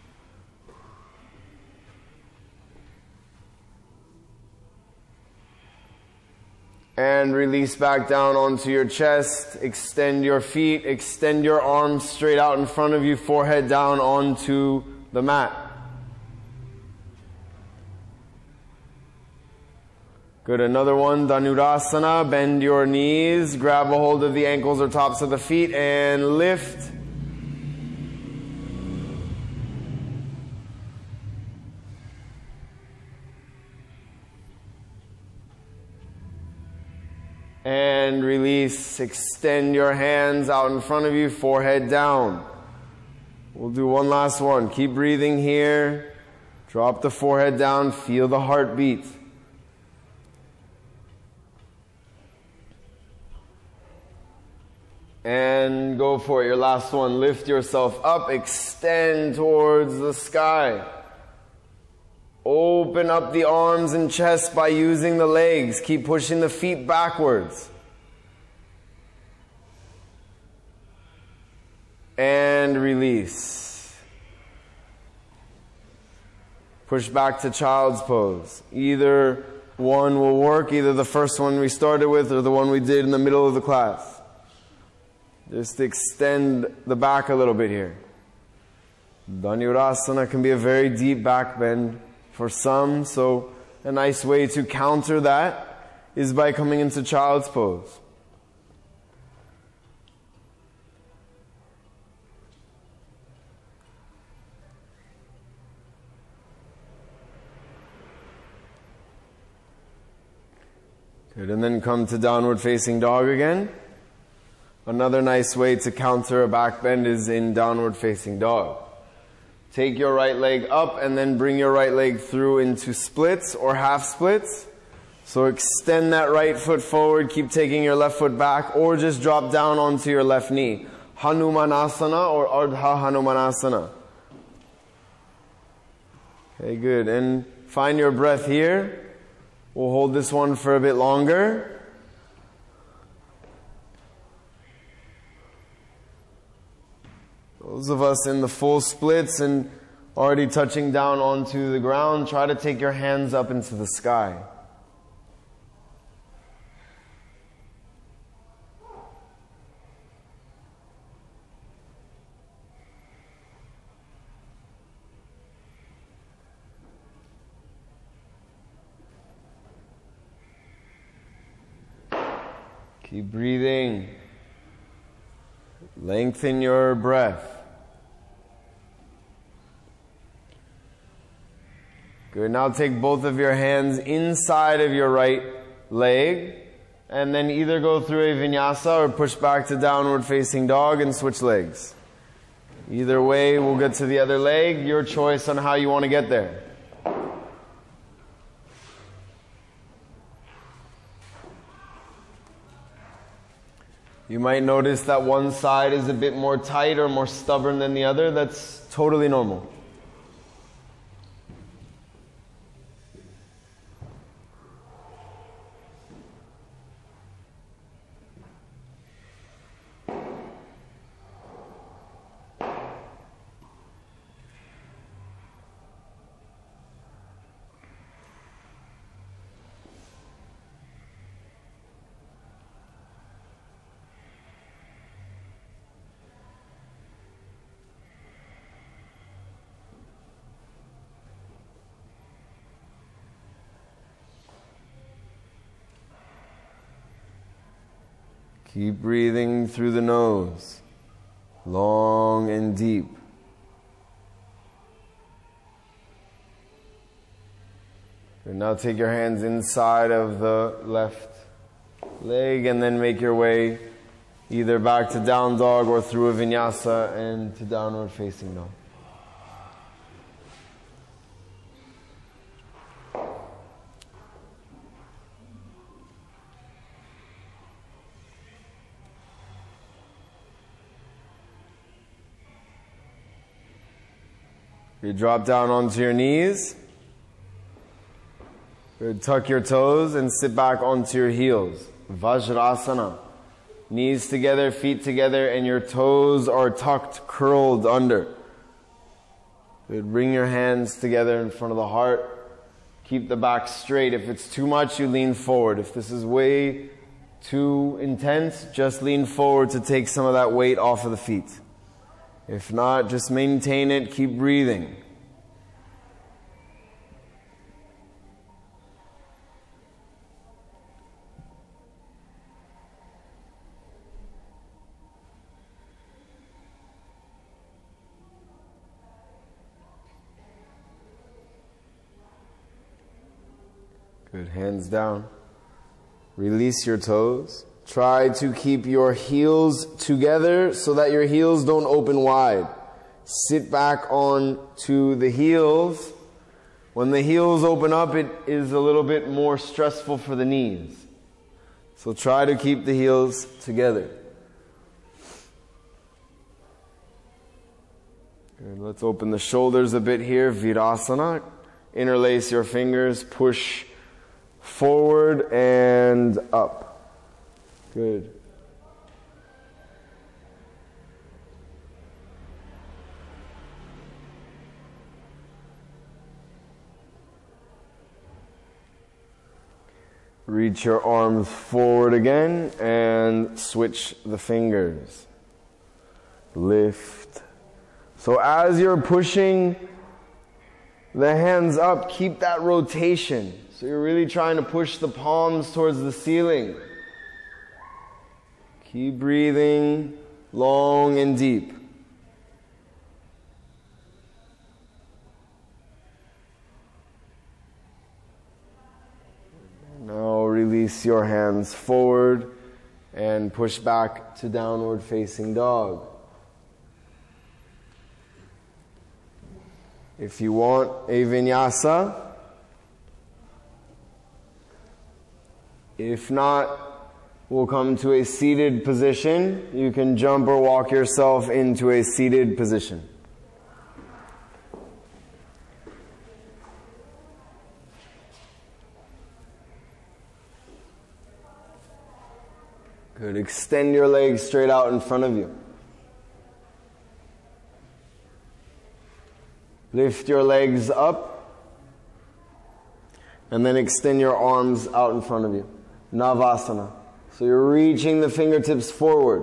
And release back down onto your chest. Extend your feet. Extend your arms straight out in front of you. Forehead down onto the mat. Good. Another one. Dhanurasana. Bend your knees. Grab a hold of the ankles or tops of the feet and lift. And release. Extend your hands out in front of you, forehead down. We'll do one last one. Keep breathing here. Drop the forehead down. Feel the heartbeat. And go for it. Your last one. Lift yourself up. Extend towards the sky. Open up the arms and chest by using the legs. Keep pushing the feet backwards. And release. Push back to child's pose. Either one will work. Either the first one we started with or the one we did in the middle of the class. Just extend the back a little bit here. Dhanurasana can be a very deep back bend for some, so a nice way to counter that is by coming into child's pose. Good, and then come to downward facing dog again. Another nice way to counter a back bend is in downward facing dog. Take your right leg up and then bring your right leg through into splits or half splits. So extend that right foot forward, keep taking your left foot back, or just drop down onto your left knee. Hanumanasana or Ardha Hanumanasana. Okay, good. And find your breath here. We'll hold this one for a bit longer. Those of us in the full splits and already touching down onto the ground, try to take your hands up into the sky. Keep breathing. Lengthen your breath. Good. Now take both of your hands inside of your right leg and then either go through a vinyasa or push back to downward facing dog and switch legs. Either way, we'll get to the other leg. Your choice on how you want to get there. You might notice that one side is a bit more tight or more stubborn than the other. That's totally normal. Keep breathing through the nose, long and deep. And now take your hands inside of the left leg and then make your way either back to down dog or through a vinyasa and to downward facing dog. You drop down onto your knees. Good. Tuck your toes and sit back onto your heels. Vajrasana. Knees together, feet together, and your toes are tucked, curled under. Good. Bring your hands together in front of the heart. Keep the back straight. If it's too much, you lean forward. If this is way too intense, just lean forward to take some of that weight off of the feet. If not, just maintain it, keep breathing. Good, hands down. Release your toes. Try to keep your heels together so that your heels don't open wide. Sit back on to the heels. When the heels open up, it is a little bit more stressful for the knees. So try to keep the heels together. Good. Let's open the shoulders a bit here. Virasana. Interlace your fingers. Push forward and up. Good. Reach your arms forward again and switch the fingers. Lift. So as you're pushing the hands up, keep that rotation. So you're really trying to push the palms towards the ceiling. Keep breathing long and deep. Now release your hands forward and push back to downward facing dog. If you want a vinyasa, if not, we'll come to a seated position. You can jump or walk yourself into a seated position. Good. Extend your legs straight out in front of you. Lift your legs up and then extend your arms out in front of you. Navasana. So you're reaching the fingertips forward.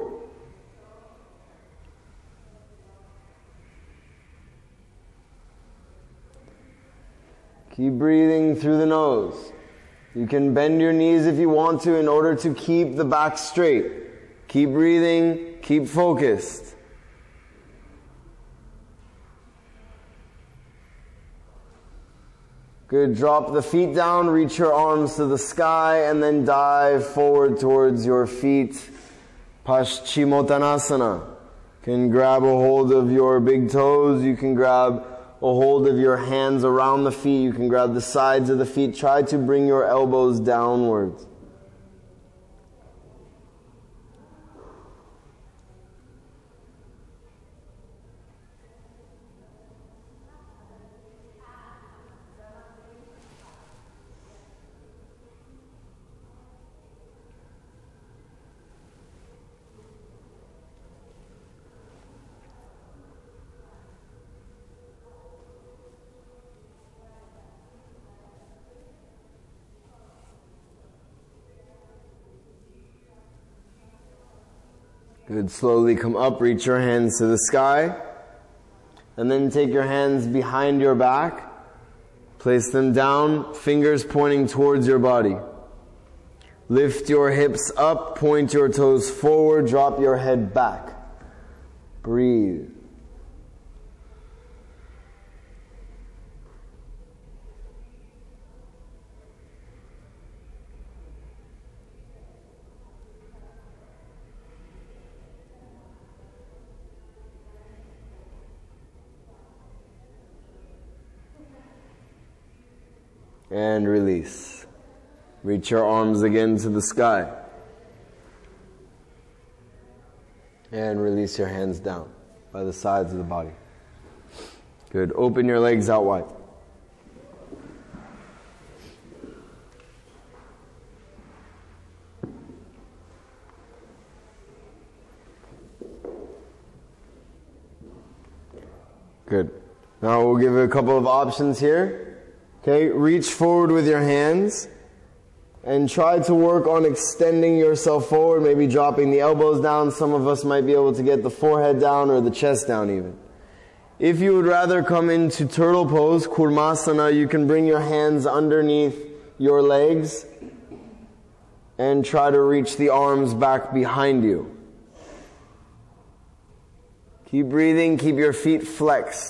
Keep breathing through the nose. You can bend your knees if you want to in order to keep the back straight. Keep breathing, keep focused. Good. Drop the feet down, reach your arms to the sky, and then dive forward towards your feet. Paschimottanasana. You can grab a hold of your big toes. You can grab a hold of your hands around the feet. You can grab the sides of the feet. Try to bring your elbows downwards. Good. Slowly come up, reach your hands to the sky, and then take your hands behind your back. Place them down, fingers pointing towards your body. Lift your hips up, point your toes forward, drop your head back. Breathe. And release. Reach your arms again to the sky. And release your hands down by the sides of the body. Good. Open your legs out wide. Good. Now we'll give you a couple of options here. Okay, reach forward with your hands and try to work on extending yourself forward, maybe dropping the elbows down. Some of us might be able to get the forehead down or the chest down even. If you would rather come into turtle pose, Kurmasana, you can bring your hands underneath your legs and try to reach the arms back behind you. Keep breathing, keep your feet flexed.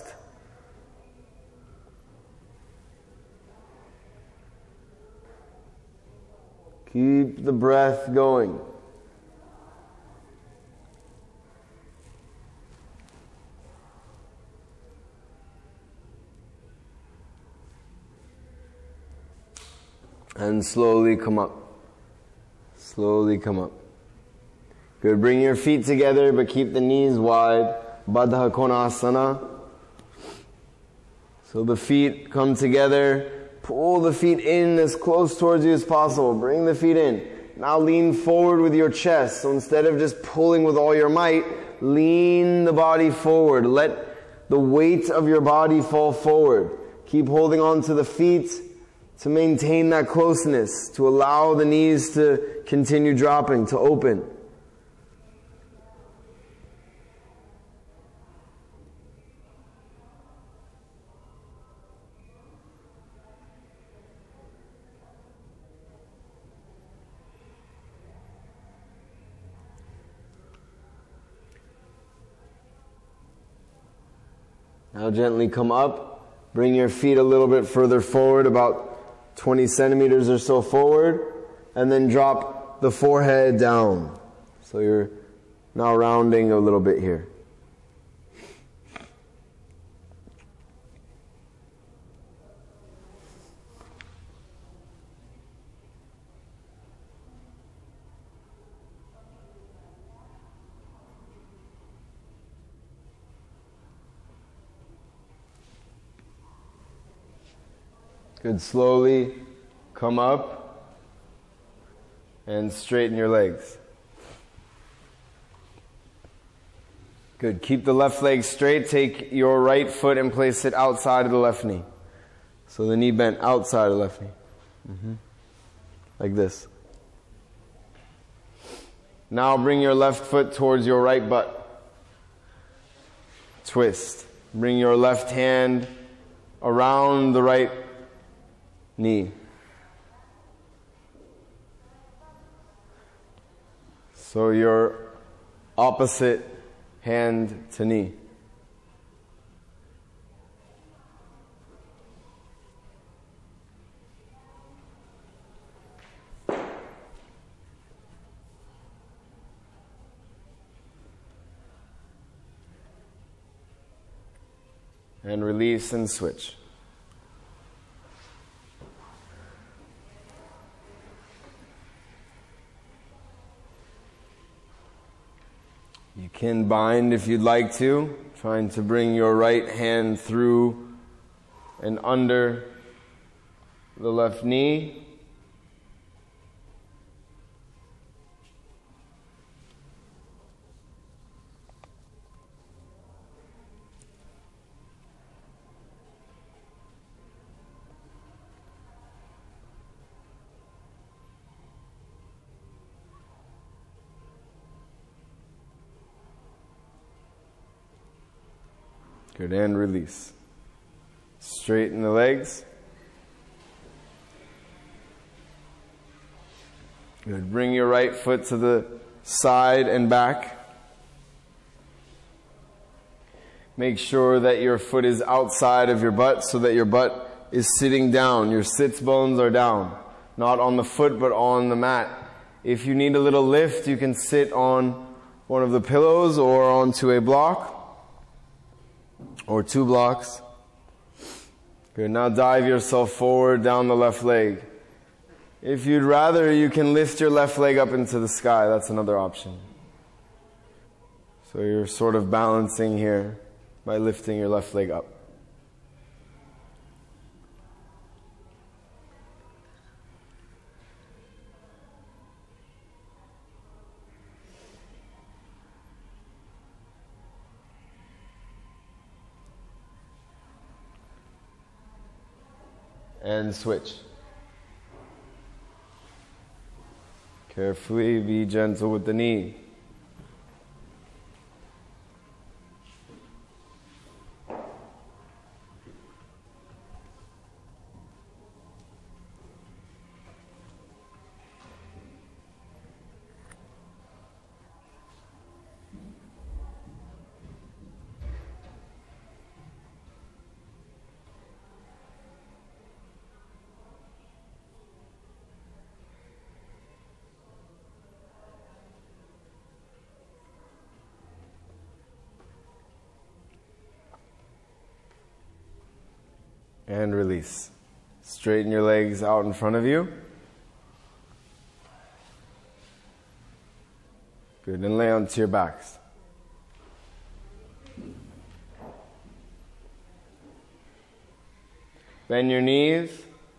Keep the breath going. And slowly come up. Slowly come up. Good. Bring your feet together, but keep the knees wide. Baddha Konasana. So the feet come together. Pull the feet in as close towards you as possible. Bring the feet in. Now lean forward with your chest. So instead of just pulling with all your might, lean the body forward. Let the weight of your body fall forward. Keep holding on to the feet to maintain that closeness, to allow the knees to continue dropping, to open. Now gently come up, bring your feet a little bit further forward, about twenty centimeters or so forward, and then drop the forehead down. So you're now rounding a little bit here. Good. Slowly come up and straighten your legs. Good. Keep the left leg straight. Take your right foot and place it outside of the left knee. So the knee bent outside of the left knee. Mm-hmm. Like this. Now bring your left foot towards your right butt. Twist. Bring your left hand around the right knee. So your opposite hand to knee. And release and switch. You can bind if you'd like to, trying to bring your right hand through and under the left knee. Good, and release. Straighten the legs. Good. Bring your right foot to the side and back. Make sure that your foot is outside of your butt so that your butt is sitting down. Your sits bones are down. Not on the foot, but on the mat. If you need a little lift, you can sit on one of the pillows or onto a block or two blocks. Good. Now dive yourself forward down the left leg. If you'd rather, you can lift your left leg up into the sky. That's another option. So you're sort of balancing here by lifting your left leg up. And switch. Carefully, be gentle with the knee. And release. Straighten your legs out in front of you. Good. And lay onto your backs. Bend your knees.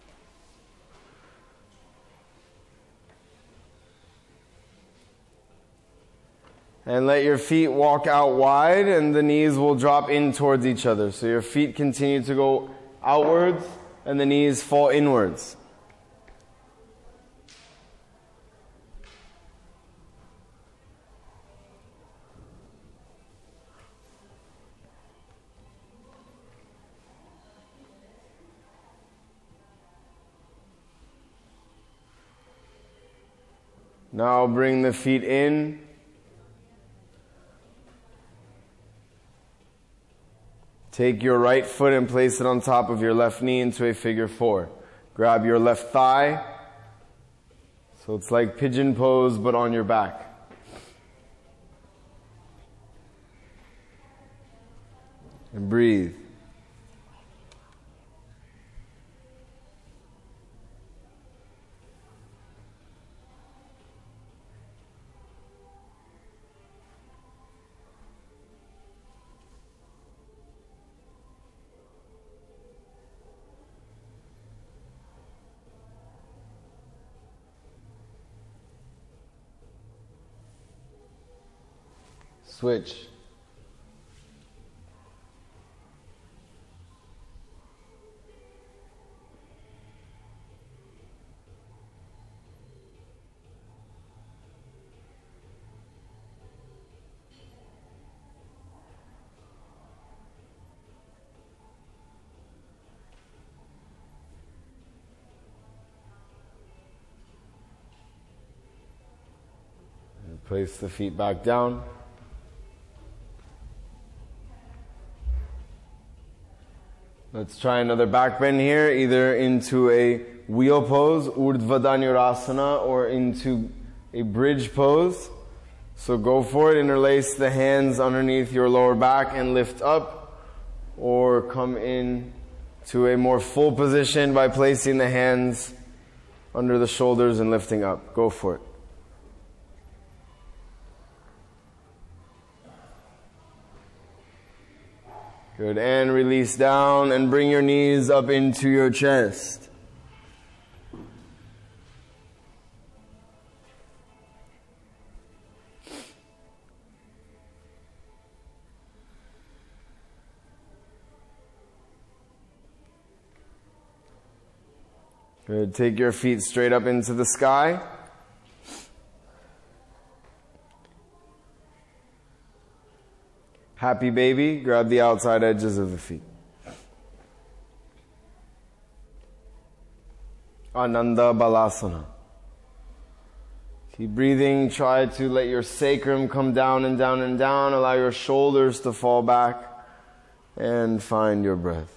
And let your feet walk out wide, and the knees will drop in towards each other. So your feet continue to go outwards, and the knees fall inwards. Now bring the feet in. Take your right foot and place it on top of your left knee into a figure four. Grab your left thigh. So it's like pigeon pose, but on your back. And breathe. Switch. And place the feet back down. Let's try another back bend here, either into a wheel pose, Urdhva Dhanurasana, or into a bridge pose. So go for it, interlace the hands underneath your lower back and lift up, or come in to a more full position by placing the hands under the shoulders and lifting up. Go for it. Good, and release down and bring your knees up into your chest. Good, take your feet straight up into the sky. Happy baby, grab the outside edges of the feet. Ananda Balasana. Keep breathing. Try to let your sacrum come down and down and down. Allow your shoulders to fall back and find your breath.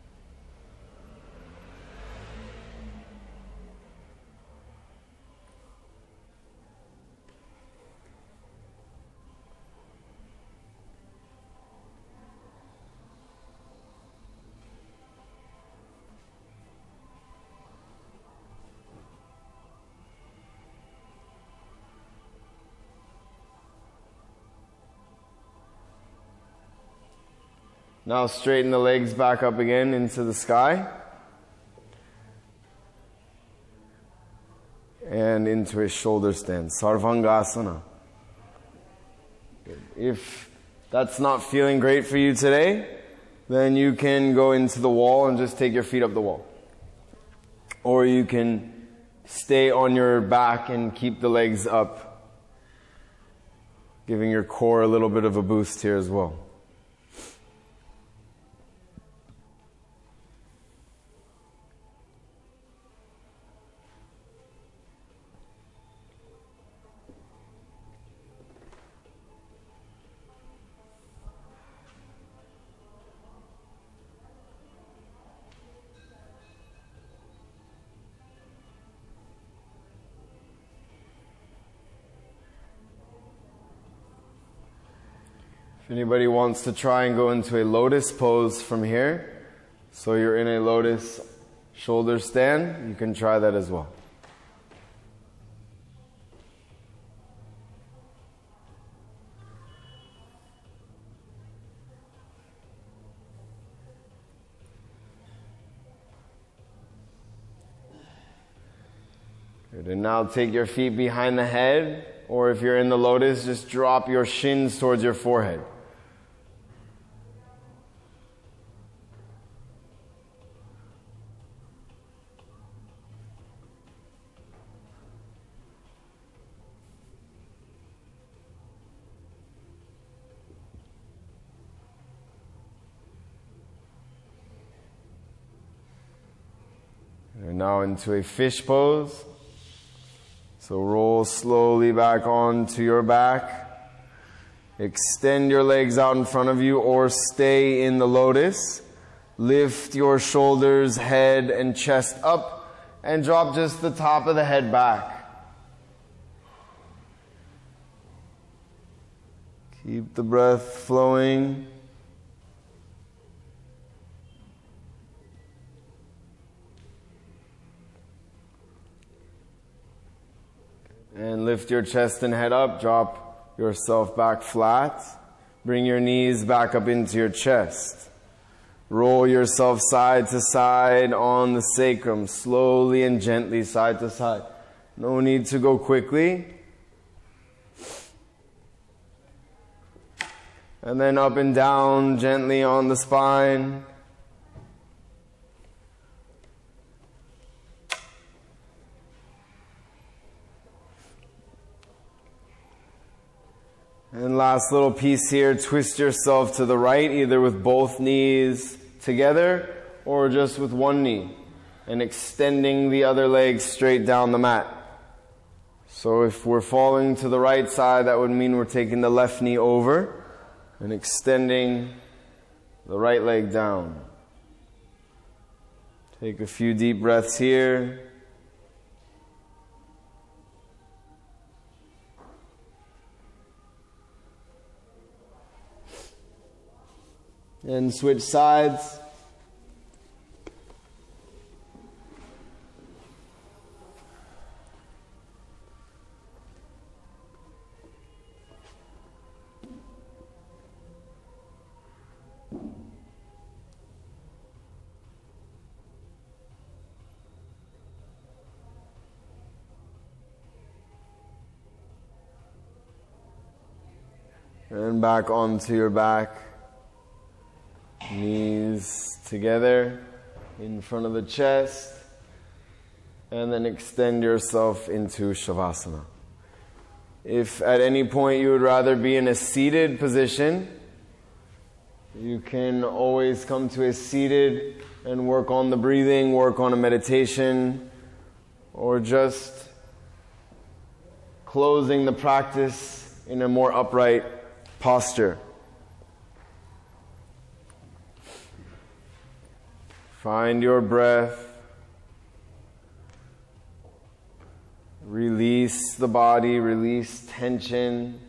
Now straighten the legs back up again into the sky. And into a shoulder stand. Sarvangasana. If that's not feeling great for you today, then you can go into the wall and just take your feet up the wall. Or you can stay on your back and keep the legs up, giving your core a little bit of a boost here as well. If anybody wants to try and go into a lotus pose from here, so you're in a lotus shoulder stand, you can try that as well. Good. And now take your feet behind the head, or if you're in the lotus, just drop your shins towards your forehead. And now into a fish pose. So roll slowly back onto your back. Extend your legs out in front of you or stay in the lotus. Lift your shoulders, head, and chest up and drop just the top of the head back. Keep the breath flowing. And lift your chest and head up. Drop yourself back flat. Bring your knees back up into your chest. Roll yourself side to side on the sacrum, slowly and gently side to side. No need to go quickly. And then up and down gently on the spine. And last little piece here, twist yourself to the right, either with both knees together or just with one knee, and extending the other leg straight down the mat. So if we're falling to the right side, that would mean we're taking the left knee over and extending the right leg down. Take a few deep breaths here. And switch sides. And back onto your back. Knees together in front of the chest. And then extend yourself into Shavasana. If at any point you would rather be in a seated position, you can always come to a seated and work on the breathing, work on a meditation, or just closing the practice in a more upright posture. Find your breath. Release the body, release tension.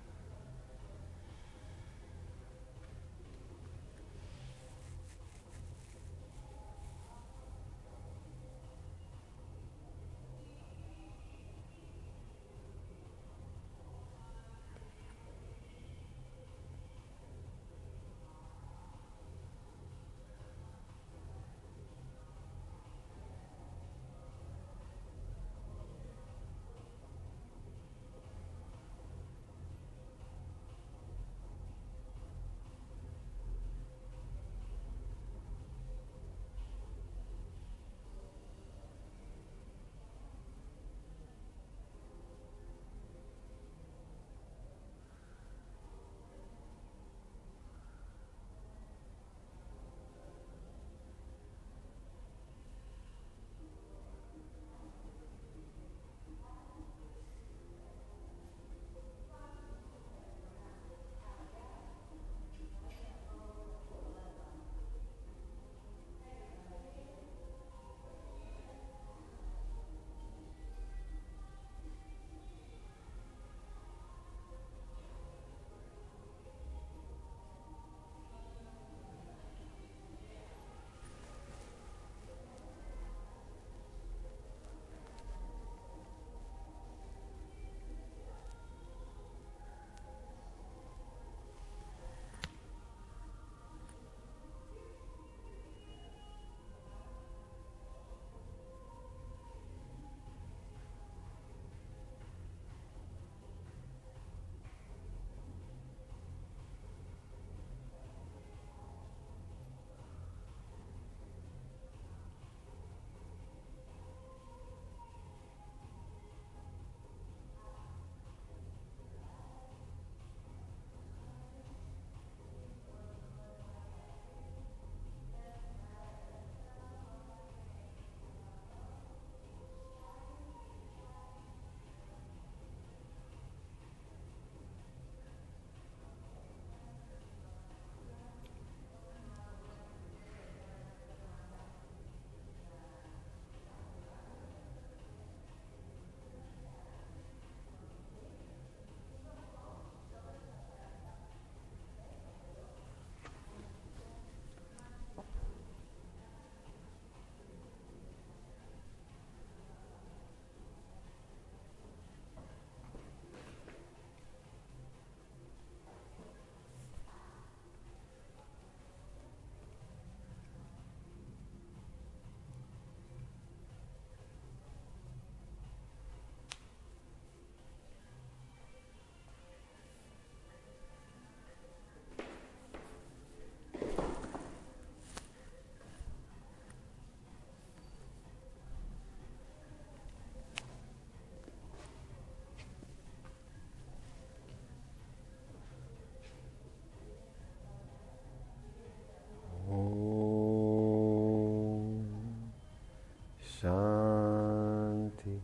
Shanti,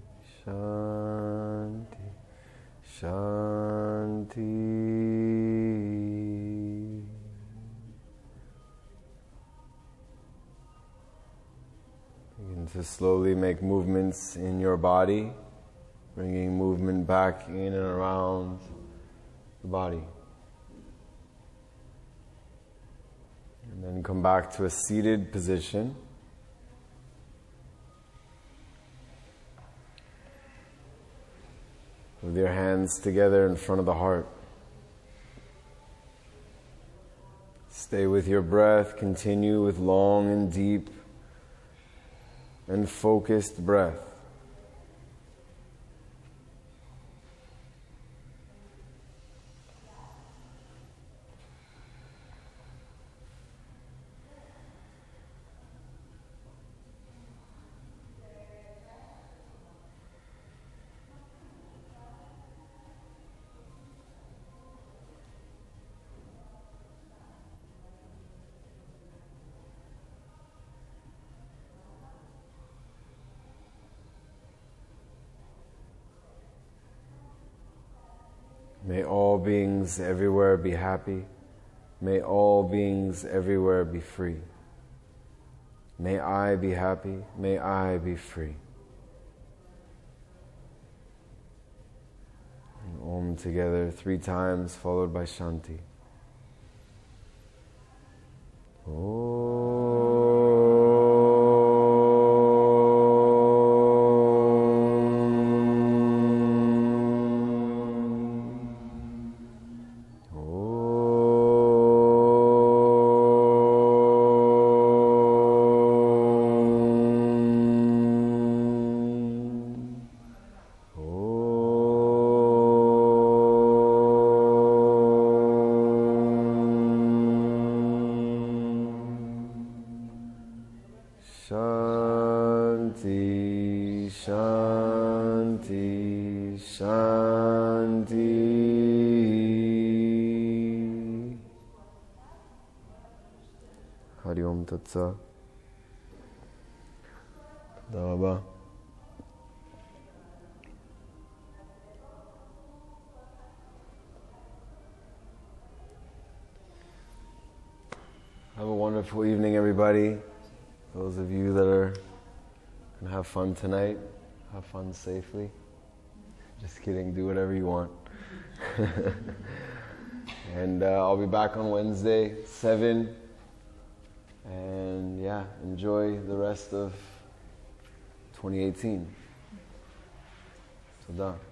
Shanti, Shanti. Begin to slowly make movements in your body, bringing movement back in and around the body. And then come back to a seated position. With your hands together in front of the heart. Stay with your breath. Continue with long and deep and focused breath. beings everywhere be happy. May all beings everywhere be free. May I be happy. May I be free. And Om together three times, followed by Shanti. Shanti, Shanti, Shanti. Hari Om Tat Sat. Toda Rabba. Have a wonderful evening, everybody. Those of you that are going to have fun tonight, have fun safely. Just kidding, do whatever you want. And uh, I'll be back on Wednesday, seven. And yeah, enjoy the rest of twenty eighteen. Toda.